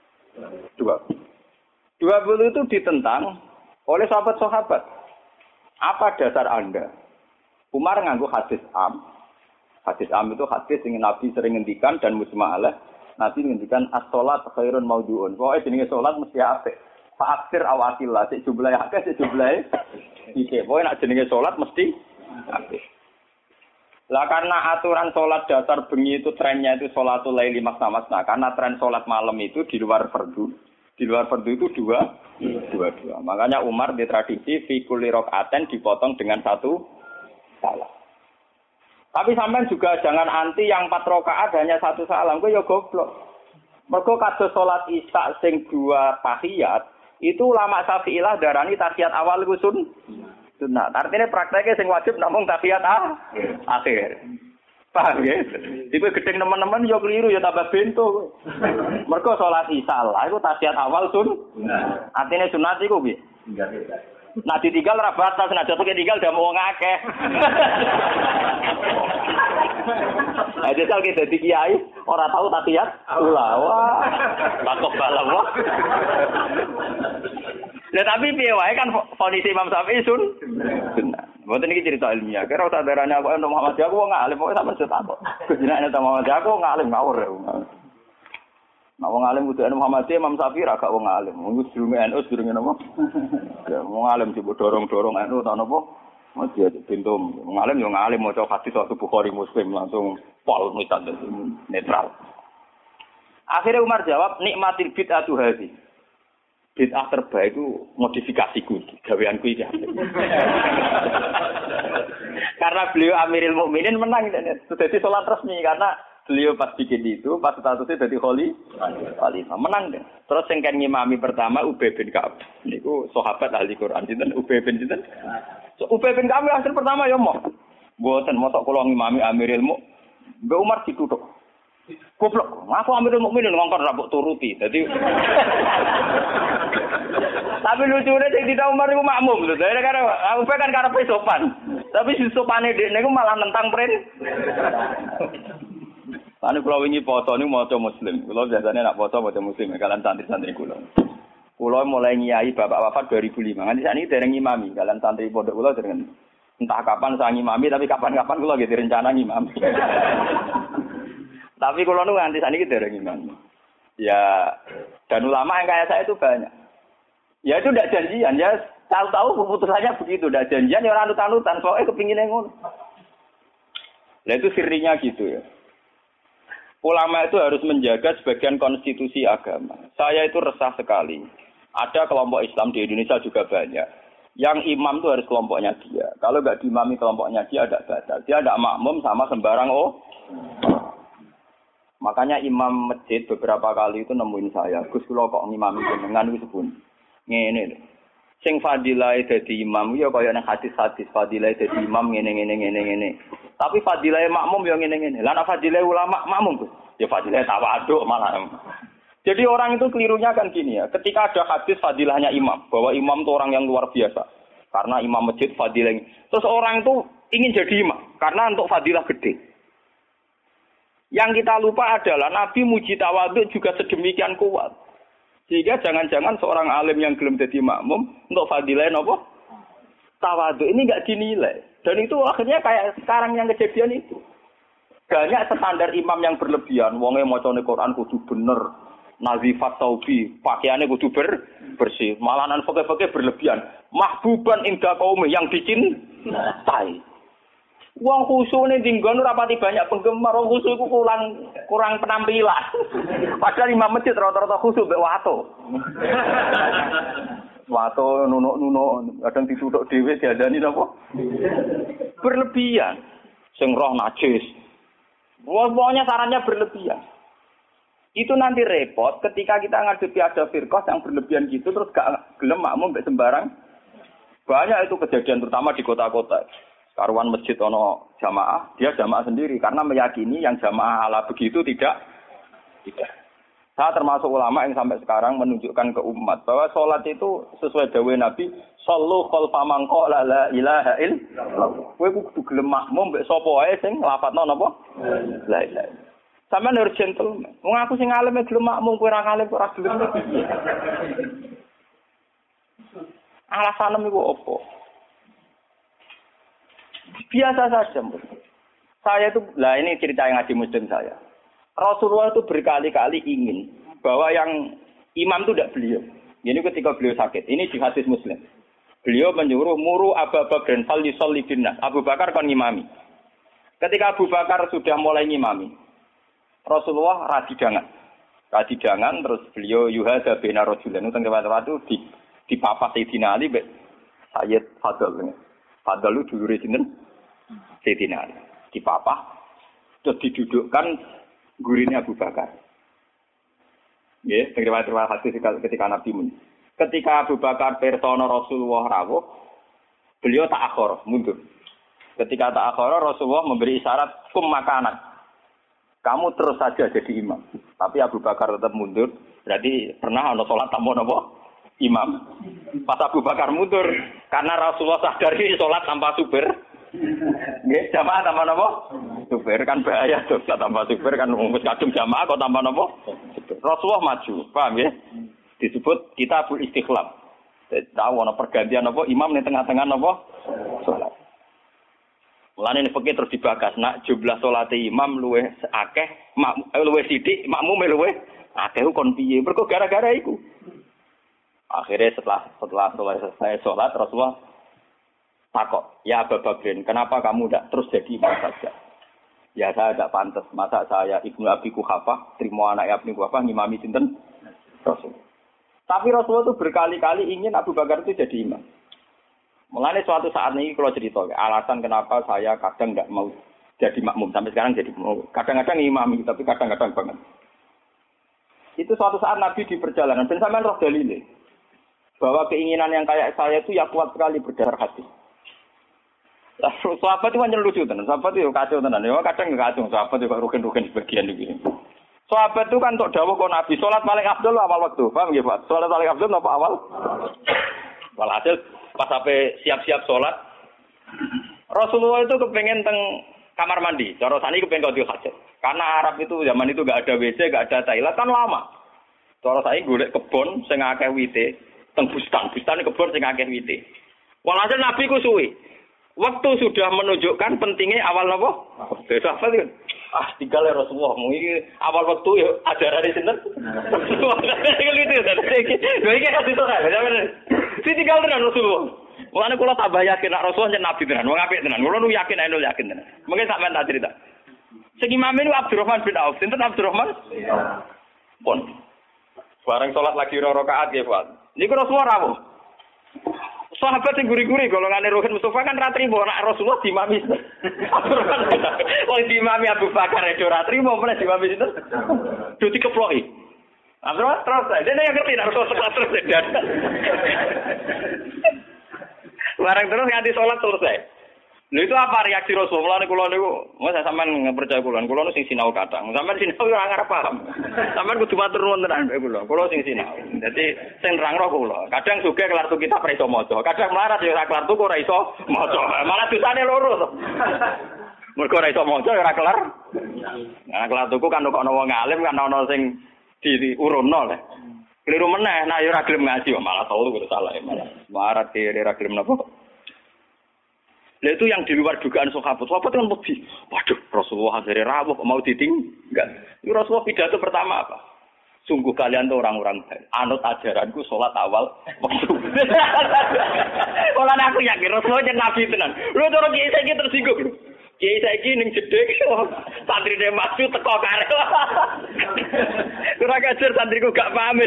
Speaker 2: 20 itu ditentang oleh sahabat-sahabat. Apa dasar Anda? Umar nganggo hadis am. Hadis am itu hadis yang Nabi sering ngendikan dan mujma'alah. Nabi ngendikan as-sholat khairun maudhu'un. Pokoke jenenge salat mesti apik. Fa'aksir awatillah, sik jumlahe akeh, sik jumlahe iki. Pokoke nek jenenge salat mesti apik. Lah karena aturan salat dasar bengi itu trennya itu sholatul laili masna-masna. Karena tren salat malam itu di luar fardu. Di luar fardu itu dua. Makanya Umar di tradisi fi kulli rakaaten dipotong dengan satu salam. Tapi sampean juga jangan anti yang 4 rakaat hanya satu salam, kowe ya goblok. Mergo kados salat Isya sing 2 tahiyat, itu ulama Syafi'iyah darani tahiyat awal iku sunnah. Artinya prakteknya sing wajib namung tahiyat akhir. Paham ya? Iku gedeng teman-teman yo keliru ya tambah bento. Mergo salat Isya lah iku tahiyat awal sunnah. Artinya sunat iku piye? Nah ditinggal ora batas, nah jatuh ketinggal udah mau ngakeh. Nah jajal kita dadi kiai, ora tahu tahiyat ula. Wah, takok balam wah. Lah tapi piye wae kan kondisi Imam Syafi'i sunnah. Mboten iki cerita ilmiah. Kira usah darane aku Muhammad aku wong alim pokoke sampeyan setakok. Jenenge Muhammad aku ngalim ngawur. Nah, wong alim kudu Muhammad Imam Syafi'i ra gak wong alim. Wong durunge NU durunge napa? Ya wong alim coba dorong-dorong NU ta napa? Mesti pintum. Wong alim yo ngalim maca hadis Sahih Bukhari Muslim langsung pol mitan netral. Akhirnya Umar jawab nikmatil bid'atu hadhi. Bid'ah terbaik itu modifikasiku, gaweanku iki. Karena beliau Amirul Mukminin menang jadi salat resmi karena beliau pas bikin itu, pas statusnya jadi khalifah, menang deh. Terus yang kan ngimami pertama Ubay bin Ka'ab. Niku sahabat ahli Quran sinten Ubay bin sinten. Ubay bin Ka'ab hasil pertama ya mau. Mboten mosok kula ngimami Amirul Mukminin. Mbak Umar dituthuk. Goblok, aku Amirul Mukminin ngongkon ra mbok turuti. Dadi tapi lucunya sing tidak Umar iku makmum lho. Karena Ubay kan karepe sopan. Tapi si sopane dekne iku malah nentang pren. Ane kula wingi foto niku maca muslim. Kula biasane nak foto maca muslim kalian santri-santri kula. Kula mulai ngiyai bapak wafat 2005. Nganti sakniki dereng ngimami kalian santri pondok kula dereng. Entah kapan saya ngimami tapi kapan-kapan kula nggih direncana ngimami. Tapi kula niku nganti sakniki dereng ngimami. Ya dan ulama yang kayak saya itu banyak. Ya itu ndak janjian ya. Tahu-tahu keputusannya begitu, ndak janjian ya ora anut-anutan, pokoke kepingine ngono. Lah itu sirinya gitu ya. Ulama itu harus menjaga sebagian konstitusi agama. Saya itu resah sekali. Ada kelompok Islam di Indonesia juga banyak. Yang imam itu harus kelompoknya dia. Kalau nggak diimami kelompoknya dia ada batal. Dia ada makmum sama sembarang Makanya imam masjid beberapa kali itu nemuin saya. Gus kula kok ngimami jenengan wis pun. Ngene. Sing fadilah dadi imam ya kaya nang hadis-hadis fadilah dadi imam ngene. Tapi fadilah makmum ya ngene. Lah nek fadilah ulama makmum Gus, ya fadilah tawaduk malah. Jadi orang itu kelirunya kan gini ya. Ketika ada hadis fadilahnya imam, bahwa imam itu orang yang luar biasa. Karena imam masjid fadilah. Terus orang itu ingin jadi imam karena untuk fadilah gede. Yang kita lupa adalah Nabi muji tawaduk juga sedemikian kuat. Sehingga jangan-jangan seorang alim yang belum jadi makmum untuk fadilah apa? Tawaduk ini enggak dinilai. Dan itu akhirnya kayak sekarang yang kejadian itu. Banyak standar imam yang berlebihan. Wonge macane Quran kudu bener. Nazifat taubi, pakaiannya kudu bersih. Malahan pakai berlebihan. Mahbuban inda qaumi yang dicintai. Wong khusuk ning nggon rapati banyak penggemar, wong khusuk iku kurang penampilan. Padahal imam masjid rata-rata khusuk mek wato. Wato nunuk-nunuk, kadang dituthuk dhewe diadani napa? Berlebihan. Sing roh najis. Pokoknya sarannya berlebihan. Itu nanti repot ketika kita ngadepi ada firqah yang berlebihan gitu terus gak gelem makmum mek sembarang. Banyak itu kejadian terutama di kota-kota. Karuan masjid ono jamaah, dia jamaah sendiri karena meyakini yang jamaah ala begitu tidak. Saya termasuk ulama yang sampai sekarang menunjukkan ke umat bahwa sholat itu sesuai dawuh Nabi, shollu khalfa man qala la ilaha illallah. Kowe kudu gelem makmum mbek sapa wae sing nglafadzno napa? La ilaha. Sampeyan harus gentleman. Wong aku sing alim gelem makmum, kowe ora alim ora gelem. Alasanmu iku apa? Biasa saja. Saya itu, lah ini cerita yang ngaji muslim saya. Rasulullah itu berkali-kali ingin bahwa yang imam itu tidak beliau. Ini ketika beliau sakit. Ini di hadis Muslim. Beliau menyuruh muru Abu Bakar fal yusalli binnas. Abu Bakar kan ngimami. Ketika Abu Bakar sudah mulai ngimami, Rasulullah radidangan terus beliau yuhada bina rajulan. Itu waktu di papa Sayyidina Ali Sayyid Fadl. Fadl itu dulure sinten? Sayyidina Ali. Di papa terus didudukkan gurine Abu Bakar. Nggih, riwayat hadis ketika Nabi mun. Ketika Abu Bakar persona Rasulullah rawuh, beliau ta'akhir, mundur. Ketika ta'akhir, Rasulullah memberi isyarat kum makanan. Kamu terus saja jadi imam. Tapi Abu Bakar tetap mundur. Berarti pernah ana salat tanpa napa? Imam. Pas Abu Bakar mundur karena Rasulullah sadari salat tanpa supir. Nggih, jamaah tanpa napa? Supir kan bahaya tuh, tanpa supir kan wis kadung jamaah kok tanpa napa? Rasulullah maju, paham ya? Disebut kitabul istikhlaf. Tahu ana pergantian apa imam ning tengah-tengah napa? Salat. Mulane nek terus dibagas, nak jumlah salate imam luwih akeh, luwih sithik, makmum luwih akeh kon piye? Mergo gara-gara iku. Akhirnya setelah selesai salat Rasulullah takok, ya Abu Bakrin, kenapa kamu tidak terus jadi imam saja? Ya saya tidak pantas. Masa saya Ibnu Abi Quhafah, terima anak Ibnu Quhafah, ngimami sinten? Rasul. Tapi Rasulullah itu berkali-kali ingin Abu Bakar itu jadi imam. Mulanya suatu saat ini kalau cerita, alasan kenapa saya kadang tidak mau jadi makmum. Sampai sekarang jadi mau. Kadang-kadang imami, tapi kadang-kadang banget. Itu suatu saat Nabi di perjalanan. Dan sampai roh dalile. Bahwa keinginan yang kayak saya itu ya kuat sekali berdasar hati. Sahabat itu hanya lucu tenan, sahabat itu kacau tenan. Ya kadang nggak kacau, sahabat itu rugen-rugen sebagian begini. Sahabat itu kan untuk dawuh kok Nabi salat paling afdal awal waktu. Paham nggih, Pak? Salat paling afdal apa awal? Walhasil pas sampai siap-siap salat Rasulullah itu kepengen teng kamar mandi. Cara sani kepengen qadhi hajat. Karena Arab itu zaman itu enggak ada WC, enggak ada toilet kan lama. Cara saya golek kebon sing akeh wite, teng bustan kebon sing akeh wite. Walhasil Nabi ku suwi. Waktu sudah menunjukkan pentingnya awal apa? Besok apa sih? Tinggal ya Rasulullah. Mungkin awal waktu ya ajaran di sini. Ini kasih soal. Si tinggal dengan Rasulullah. Mulanya kalau tambah yakin nak Rasulullah jadi Nabi tenan. Mau ngapain tenan? Kalau nu yakin, aku yakin tenan. Mungkin sampai tak cerita. Segi imam ini Abdurrahman bin Auf. Sinten Abdurrahman? Pun. Bareng sholat lagi rakaat ya Pak. Ini Rasulullah rawuh. Sahabat yang guri-guri golongane Ruhin Mustafa kan ra trimo nek Rasulullah dimami. Wong dimami Abu Bakar itu ra trimo meneh dimami sinten? Do dikeploki. Terus dene yang ngerti nek Rasulullah terus dan. Barang terus nganti salat selesai. Lha itu apa reaksi Rasulullah kula niku? Saya sampean percaya kula nu sing sinau kadang. Sampean sinau ora ngarep paham. Sampean kudu matur nuwun tenan mbek kula. Kula sing sinau. Dadi sing nerangno kula. Kadang sugih kelar tuku kitab ora iso maca. Kadang melarat ya ora kelar tuku ora iso maca. Malah dosane loro to. Mergo ora iso maca ora kelar. Nah, kelar tuku kan kok ana wong alim kan ana sing diurunno le. Keliru meneh nek ora gelem ngaji malah tau kudu salah malah. Marat kire ora gelem napa. Nah itu yang di luar dugaan sahabat. Sahabat kan lebih, waduh Rasulullah akhirnya rawuh mau ditinggal. Itu Rasulullah pidato pertama apa? Sungguh kalian tuh orang-orang baik. Anut ajaranku sholat awal waktu. Kalau aku yakin Rasulullah jadi nabi tenan. Lu cara kiai saya tersinggung. Kiai saya ning jedek, santri dia masuk teko karep. Kurang ajar santriku gak pamit.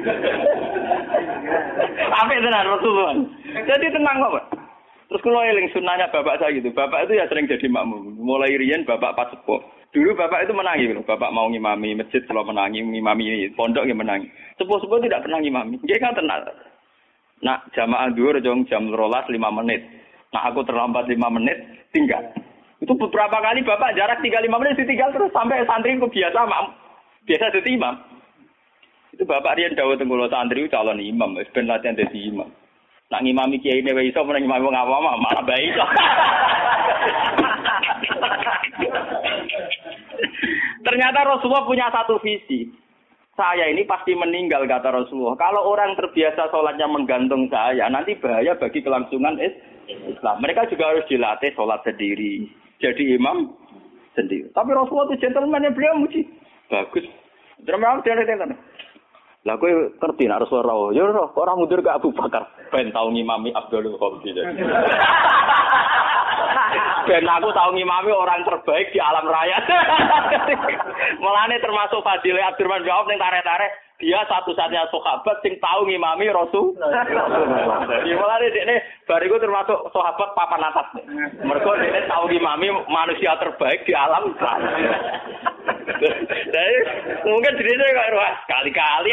Speaker 2: Apa tenan Rasulullah? Jadi tenang kok. Terus kalau eling sunnahnya bapak saya gitu, bapak itu ya sering jadi makmum. Mulai riyen bapak pas sepuh. Dulu bapak itu menangi, bapak mau ngimami masjid, kalau menangi ngimami pondok ya menangi. Sepuh-sepuh tidak pernah ngimami. Dia kan tenang. Nah jamaah dhuwur jam 12 5 menit. Nah aku terlambat 5 menit tinggal. Itu beberapa kali bapak jarak tinggal 5 menit ditinggal terus sampai santri ku biasa jadi imam. Itu bapak riyen dawuh teng kula santri calon imam, wis ben latihan dadi imam. Nak ngimami kiai ne wae iso meneng ngimami wong awam malah bae iso. Ternyata Rasulullah punya satu visi. Saya ini pasti meninggal, kata Rasulullah. Kalau orang terbiasa sholatnya menggantung saya, nanti bahaya bagi kelangsungan Islam. Mereka juga harus dilatih sholat sendiri. Jadi imam sendiri. Tapi Rasulullah itu gentleman yang beliau muji. Bagus. Terima kasih. Lah kowe ngerti nek Rasulullah. Ya kok ora mundur ke Abu Bakar. Ben tau ngimami Abdul Khalid. Ben aku tau ngimami orang terbaik di alam raya. Mulane termasuk Fadil Abdurrahman bin Auf ning tarik-tarik, dia satu-satunya sahabat sing tau ngimami Rasul. Jadi mulane dekne bariku termasuk sahabat papan atas. Mergo dekne tau ngimami manusia terbaik di alam raya. Jadi mungkin dirinya kok wah kali-kali.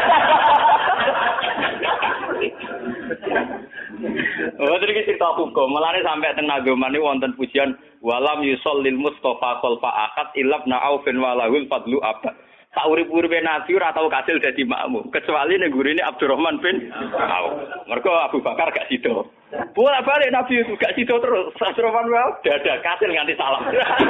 Speaker 2: Oh, terus cerita hukum. Mulane sampai teng nagoman niku wonten pujian walam yusallil mustofa khalfa akad ilabna aufin walahul fadlu abad. Sak urip-uripe Nabi ora tau kasil dadi makmum, kecuali ning gurine Abdurrahman bin Auf. Mergo Abu Bakar gak sida. Bolak-balik Nabi itu gak sida terus. Abdurrahman bin Auf dadak kasil nganti salam.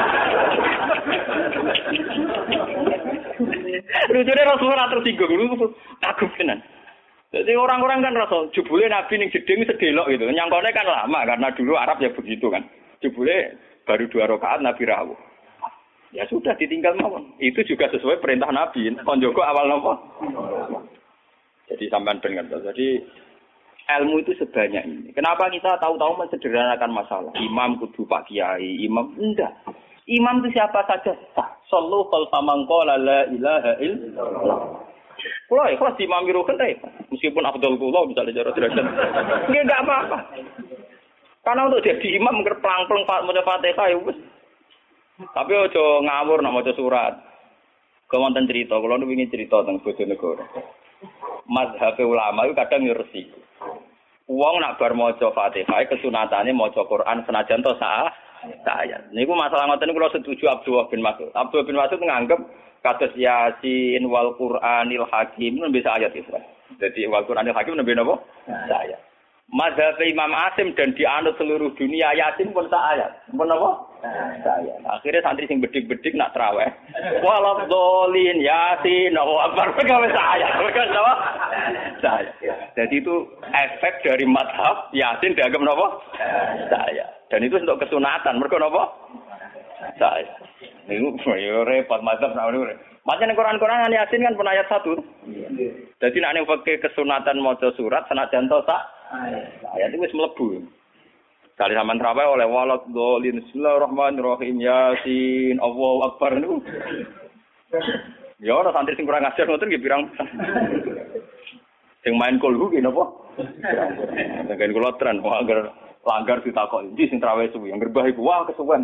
Speaker 2: Lucunya Rasulullah tersinggung, kagum tenan. Jadi orang-orang kan rasa jebule Nabi ning jeding sedelok gitu. Nyangkone kan lama karena dulu Arab ya begitu kan. Jebule baru 2 rakaat Nabi rawuh. Ya sudah ditinggal mawon. Itu juga sesuai perintah Nabi. Kon Joko awal napa? Jadi sampean ben ngerti. Jadi ilmu itu sebanyak ini. Kenapa kita tahu-tahu mensederhanakan masalah? Imam kudu Pak Kiai, imam enggak. Imam itu siapa saja sah. Sallu khalfa man qala la ilaha illallah. Kulo ikhlas imami rukun ta. Meskipun afdal kula misalnya cara derajat. Nggih enggak apa-apa. Karena untuk jadi imam ngerplang-plang maca Fatihah ya wis. Tapi aja ngawur nek maca surat. Kewonten cerita, kula nu wingi cerita teng Bojonegoro. Mazhab ulama itu kadang yo resiko. Wong nak bar maca Fatihah kesunatane maca Quran senajan to ayat. Niku masalah ngoten kula setuju Abdullah bin Mas'ud. Abdullah bin Mas'ud nganggep kados Yasin wal Qur'anil Hakim nembe ayat itu. Jadi wal Qur'anil Hakim nembe napa? Ayat. Mazhab Imam Asim dan dianut seluruh dunia Yasin pun ayat. Pun apa? Ayat. Akhirnya santri sing bedik-bedik nak traweh. Walad dolin Yasin Allahu Akbar gawe ayat. Kan apa? Ayat. Jadi itu efek dari mazhab Yasin dianggap napa? Ayat. Dan itu untuk kesunatan. Mergo napa? Ayat. Niku yo repot mazhab nek niku. Macam Quran-Quran Yasin kan pun ayat 1. Jadi nek ning fikih kesunatan maca surat senajan to sak ayat itu wis mlebu. Kali sampean traweh oleh walad dolin bismillahirrahmanirrahim Yasin Allahu Akbar niku. Ya ora santri sing kurang ajar ngoten nggih pirang. Sing main kulhu ki napa? Dengan kula tren langgar ditakoki ndi sing traweh suwi yang gerbah iku wah kesuwen.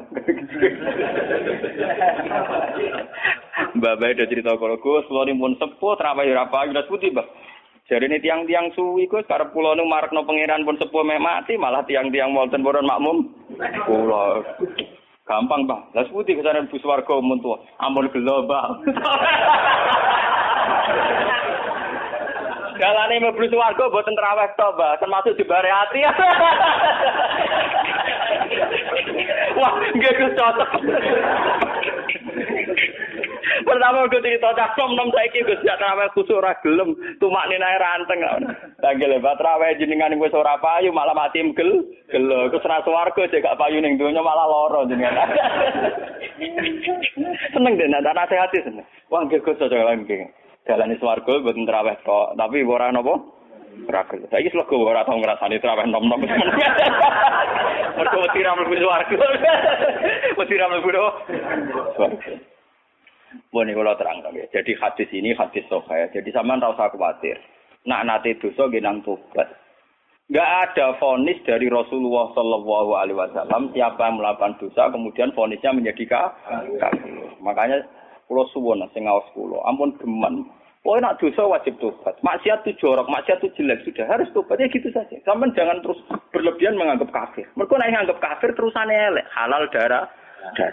Speaker 2: Mbak Bae ada cerita kalau Gus, kula pun sepuh traweh ora payu das putih, Mbak. Jarine tiang-tiang suwi Gus karep kula nu marekno pangeran pun sepuh mek mati malah tiang-tiang wonten boron makmum. Kula gampang, Mbak. Las putih kesane bus warga mun tuwa. Ampun gelo, Mbak. Galane mlebu swarga mboten traweh to, Mbak, termasuk dibare ati. Wah, nggih Gus cocok. Pertama gue cerita cak nom saiki Gus ya traweh kusuk ora gelem, tumakne nae ranteng. Tanggel lebat traweh jenengan wis ora payu malah mati gelo. Gus ra swarga jek gak payu ning donya malah lara jenengan. Seneng den ana nasihati seneng. Wah nggih Gus cocok lagi. Dalane swarga mboten traweh tok, tapi ora napa? Ora gelem. Saiki slego ora tau ngrasani traweh nom-nom. Mergo wedi ra mlebu swarga. Wedi ra mlebu swarga. Boleh kalau terang ya. Jadi hadis ini hadis sahih. Jadi sampean ora usah khawatir. Nak nate dosa nang tobat. Enggak ada vonis dari Rasulullah sallallahu alaihi wasallam siapa yang melakukan dosa kemudian vonisnya menjadi kafir. Makanya kula suwun sing ngaos kula, ampun geman. Oh nak dosa wajib tobat. Maksiat itu jorok, maksiat itu jelek sudah harus tobat ya gitu saja. Sampeyan jangan terus berlebihan menganggap kafir. Mergo nek nganggap kafir terusane elek, halal darah.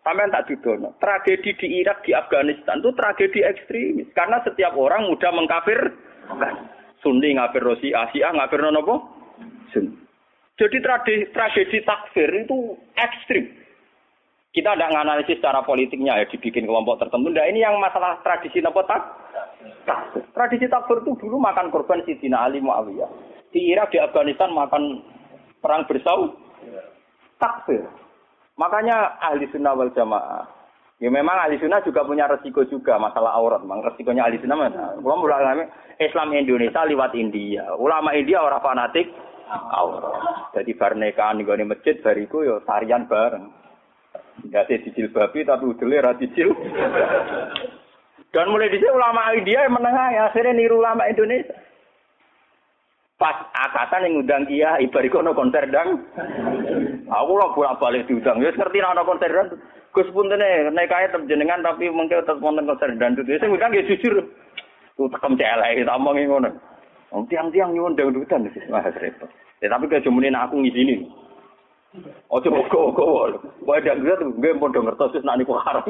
Speaker 2: Sampean tak dudono. Tragedi di Irak, di Afghanistan itu tragedi ekstremis. Karena setiap orang mudah mengkafirkan. Sunni ngafir Syiah, Syiah ngafir apa? Sunni. Jadi tragedi takfir itu ekstrim. Kita tidak menganalisis secara politiknya ya dibikin kelompok tertentu. Nah, ini yang masalah tradisi apa takfir. Tradisi takfir itu dulu makan korban Sidina Ali Muawiyah. Di Irak, di Afghanistan makan perang bersaudara. Takfir. Makanya ahli sunnah wal jamaah. Ya memang ahli sunnah juga punya resiko juga masalah aurat. Memang resikonya ahli sunnah mana? Ulama Islam Indonesia lewat India. Ulama India orang fanatik aurat. Jadi bar nikahan di masjid bariku yo tarian bareng. Enggak sih dijilbabi tapi udele ra dijil. Dan mulai dhisik ulama India yang menengah ya akhirnya niru ulama Indonesia. Pas akatan yang ngundang kiai bariku ono konser dang. Aku lah bolak-balik diundang. Ya ngerti ana konser dang. Gus puntene nikahe tetep jenengan tapi mengke tetep wonten konser dangdut. Sing ngundang ya jujur. Ku tekem celek tak omongi ngono. Wong tiang-tiang nyuwun dangdutan wis repot. Ya tapi kejemune aku ngizini. Ojo kok. Wae dak ngerti nggih padha ngertos wis nek niku haram.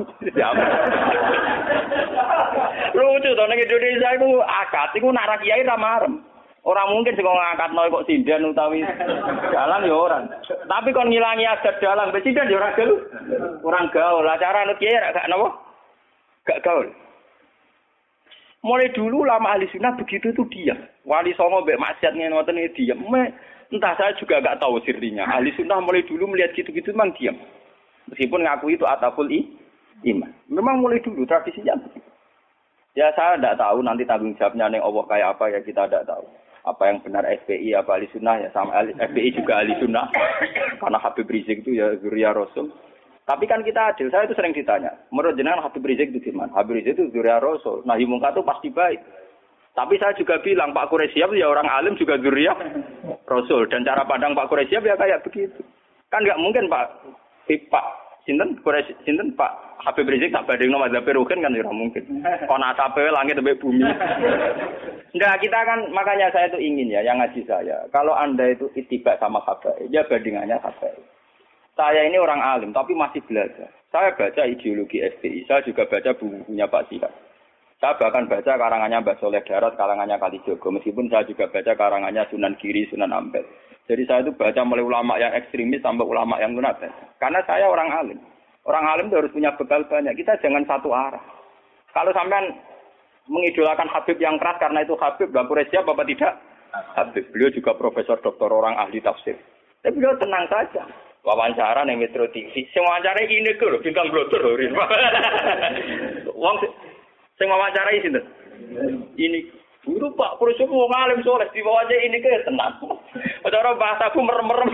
Speaker 2: Lucu to nek Indonesia iku akad iku nak ra kiai ra marem. Ora mungkin sing ngangkatno kok sindan utawi dalang ya ora. Tapi kon ngilangi adat dalang sindan ya ora gaul. Kurang gaul. Acara anut kiai gak napa? Gak gaul. Mulai dulu lama ahli sunnah begitu itu diam. Wali songo mbek maksiat ngoten iki diam. Entah saya juga gak tahu sirinya. Ahli sunnah mulai dulu melihat gitu-gitu memang diam. Meskipun ngaku itu ataful iman. Memang mulai dulu tradisinya begitu. Ya saya tidak tahu nanti tanggung jawabnya ning Allah kayak apa ya kita tidak tahu. Apa yang benar FPI apa ahli sunnah ya sama FPI juga ahli sunnah. Karena Habib Rizik itu ya zuriyah Rasul. Tapi kan kita adil. Saya itu sering ditanya. Menurut jenengan Habib Rizik itu gimana? Habib Rizik itu zuriyah Rasul. Nahi mungkar itu pasti baik. Tapi saya juga bilang Pak Quraisyab ya orang alim juga zuriyah Rasul. Dan cara pandang Pak Quraisyab ya kayak begitu. Kan nggak mungkin Pak Sinten Pak Habib Rizik tak bandingno mazhab Ruhin kan ora mungkin. Kon asape langit sampai bumi. Enggak, kita kan makanya saya itu ingin ya yang ngaji saya. Kalau Anda itu ittiba sama habaib, ya bandingannya habaib. Saya ini orang alim tapi masih belajar. Saya baca ideologi FPI, saya juga baca bukunya Pak Sihab. Saya bahkan baca karangannya Mbah Soleh Darat, karangannya Kalijogo. Meskipun saya juga baca karangannya Sunan Giri, Sunan Ampel. Jadi saya itu baca mulai ulama yang ekstremis sampai ulama yang munafik. Karena saya orang alim. Orang alim itu harus punya bekal banyak. Kita jangan satu arah. Kalau sampean mengidolakan Habib yang keras karena itu Habib, Mbah Quraisyab apa tidak? Habib. Beliau juga profesor doktor orang ahli tafsir. Tapi beliau tenang saja. Wawancara ning Metro TV. Sing wawancara ini lho, bintang blotor lho. Wong sing wawancarai sinten? Ini guru Pak Quraisyab wong alim soleh diwawancara ini ke tenang. Cara bahasaku merem-merem.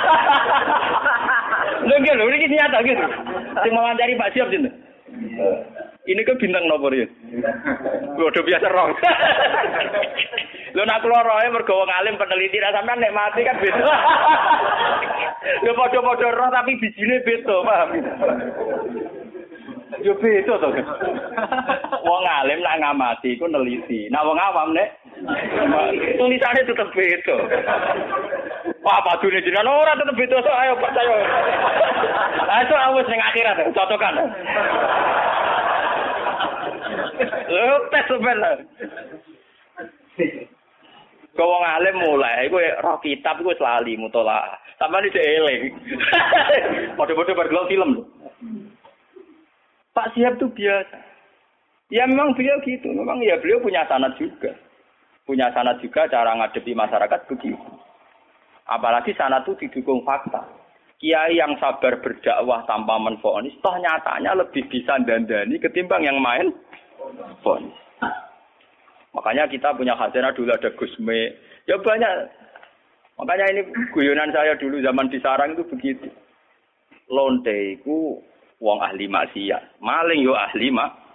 Speaker 2: Lho iki nyata gitu. Sing wawancari Pak Siap sinten? Ini ke bintang nopo ya? Udah biasa roh. Lho nak kula roe mergo wong alim peneliti ra sampean nek mati kan beda. Lho padha-padha roh tapi bijine beda, paham? Yo beda to. Wong alim nak ngamati iku neliti. Nak wong awam nek tulisane tetep beda. Wah, padune jenengan ora tetep beda sok ayo percaya. Ayo awes ning akhirat cocokan. Tes sebenarnya. Kau wong alim mulai, iku roh kitab iku lali mutolaah. Sampeyan iki eling. Padha-padha bergelok film. Pak Siap itu biasa. Ya memang beliau gitu. Memang ya beliau punya sanad juga. Punya sanad juga cara ngadepi masyarakat begitu. Apalagi sanad itu didukung fakta. Kiai yang sabar berdakwah tanpa menfonis, toh nyatanya lebih bisa dandani ketimbang yang main fonis. Makanya kita punya khazanah dulu ada Gusme. Ya banyak. Makanya ini guyonan saya dulu zaman di Sarang itu begitu. Lonte itu wong ahli maksiat. Maling yo ahli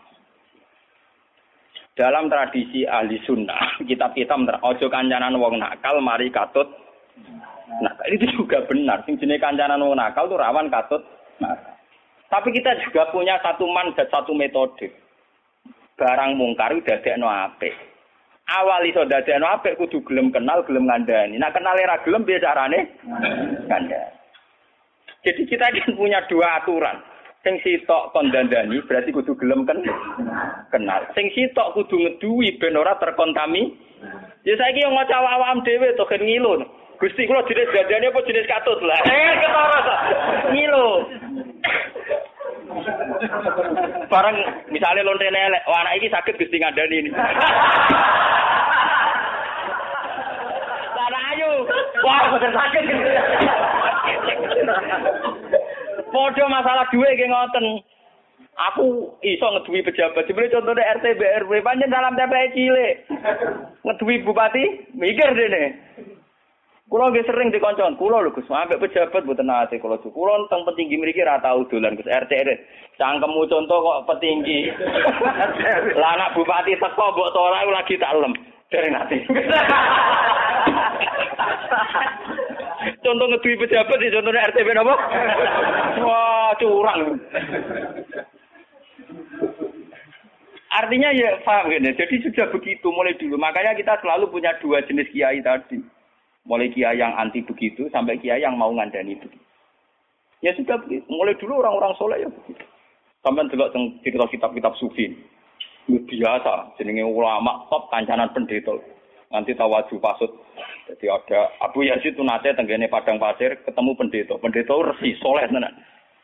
Speaker 2: Dalam tradisi ahli sunnah, kitab-kitab ojo kancanan wong nakal mari katut. Nah, itu juga benar. Sing jenenge kancanan wong nakal tuh rawan katut. Nah, tapi kita juga punya satu mandat, satu metode. Barang mungkar dadekno apik. Awal iso dadekno apik kudu gelem kenal, gelem ngandani. Nek kenal ra gelem piye carane? Kandhani. Jadi kita kan punya dua aturan. Sing sitok kon dandani berarti kudu gelem kenal. Sing sitok kudu ngeduwi ben ora terkontami. Ya saiki yo ngaca awak-awakam dhewe to gen ngilu. Gusti kula jenis dandane apa jenis katut lah. Ketara to. Ngilu. Barang misalnya lontene elek, wah anak iki saged Gusti ngandani ini. Lah ayo. Wah, boten saged. Podo masalah duwe nggih ngoten. Aku iso ngeduwi pejabat. Jebule contone RT BRW pancen dalam TPE cilik. Ngeduwi bupati, mikir dene. Kula nggih sering dikoncon, kula lho Gus, ambek pejabat mboten nate kula. Kula teng petinggi mriki ra tau dolan Gus RT. Cangkemmu contoh kok petinggi. Lah anak bupati teko mbok ora lagi tak lem. Dereng nate. Contoh ngeduwi pejabat di contohnya RT napa? Wah, curang. Artinya ya paham gini. Jadi sudah begitu mulai dulu. Makanya kita selalu punya dua jenis kiai tadi. Mulai kiai yang anti begitu sampai kiai yang mau ngandani begitu. Ya sudah begitu. Mulai dulu orang-orang soleh ya begitu. Sampai delok cerita kitab-kitab sufi. Biasa jenenge ulama top kancanan pendeta. Nanti tawaju pasut. Jadi ada Abu Yazid itu nate tenggene padang pasir ketemu pendeta. Pendeta resi soleh tenan.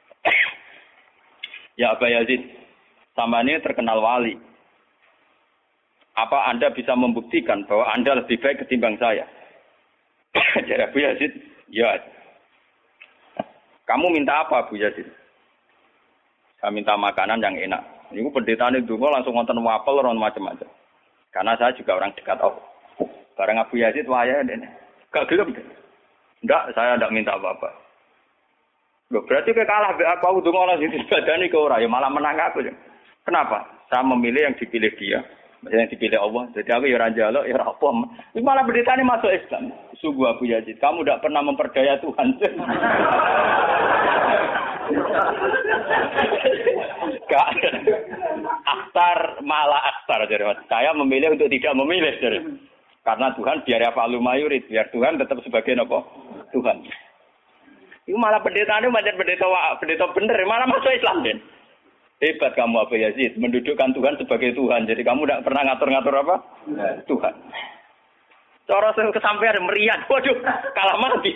Speaker 2: Ya Abu Yazid, sama ini terkenal wali. Apa Anda bisa membuktikan bahwa Anda lebih baik ketimbang saya? Jadi Abu Yazid, ya. Kamu minta apa Abu Yazid? Saya minta makanan yang enak. Ini pendeta ini dulu langsung ngonten wapel orang macam-macam. Karena saya juga orang dekat Allah. Barang Abu Yazid waya dene. Gak gelem. Ndak, saya ndak minta apa-apa. Loh, berarti kowe kalah mbek aku ndonga ana sing dibadani ke ora, ya malah menang aku. Kenapa? Saya memilih yang dipilih dia, yang dipilih Allah. Jadi aku ya ora njaluk, ya ora apa. Ini malah beritane masuk Islam. Sungguh Abu Yazid, kamu ndak pernah memperdaya Tuhan. Gak. Akhtar malah akhtar jadi. Saya memilih untuk tidak memilih jadi. Karena Tuhan biar ya falu mayurid, biar Tuhan tetap sebagai apa? Tuhan. Itu malah pendeta itu macam pendeta bener, malah masuk Islam den. Hebat kamu Abu Yazid, mendudukkan Tuhan sebagai Tuhan. Jadi kamu tidak pernah ngatur-ngatur apa? Tuhan. Cara kesampaian meriah, waduh, kalah mati.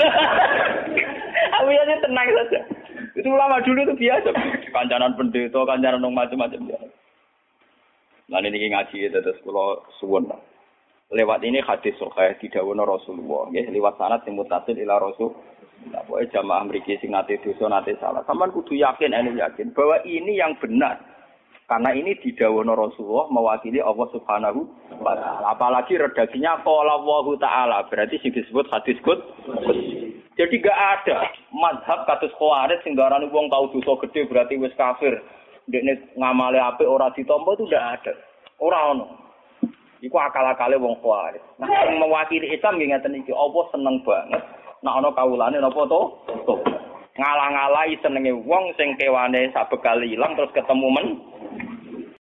Speaker 2: Abu Yazid tenang saja. Itu ulama dulu itu biasa. Kancanan pendeta, kancanan macam-macam biasa. Nah ini ngaji terus kalau suwun. Lewat ini hadis sahih didhawuhna Rasulullah nggih liwat sanad sing mutasil ila Rasul. Lah pokoke jamaah mriki sing nate dosa nate salah. Sampeyan kudu yakin bahwa ini yang benar. Karena ini didhawuhna Rasulullah mewakili Allah Subhanahu wa taala. Apalagi redaksinya qala Allahu taala, berarti sing disebut hadis qudsi. Jadi gak ada mazhab kados Khawarij sing darani wong tau dosa gede berarti wis kafir. Ndekne ngamale apik ora ditampa itu ndak ada. Ora ono. Iku akal-akale wong Khawarij. Nah, sing mewakili Islam nggih ngaten iki, apa seneng banget nek ana kawulane napa to? Ngalang-alai senenge wong sing kewane sabekal ilang terus ketemu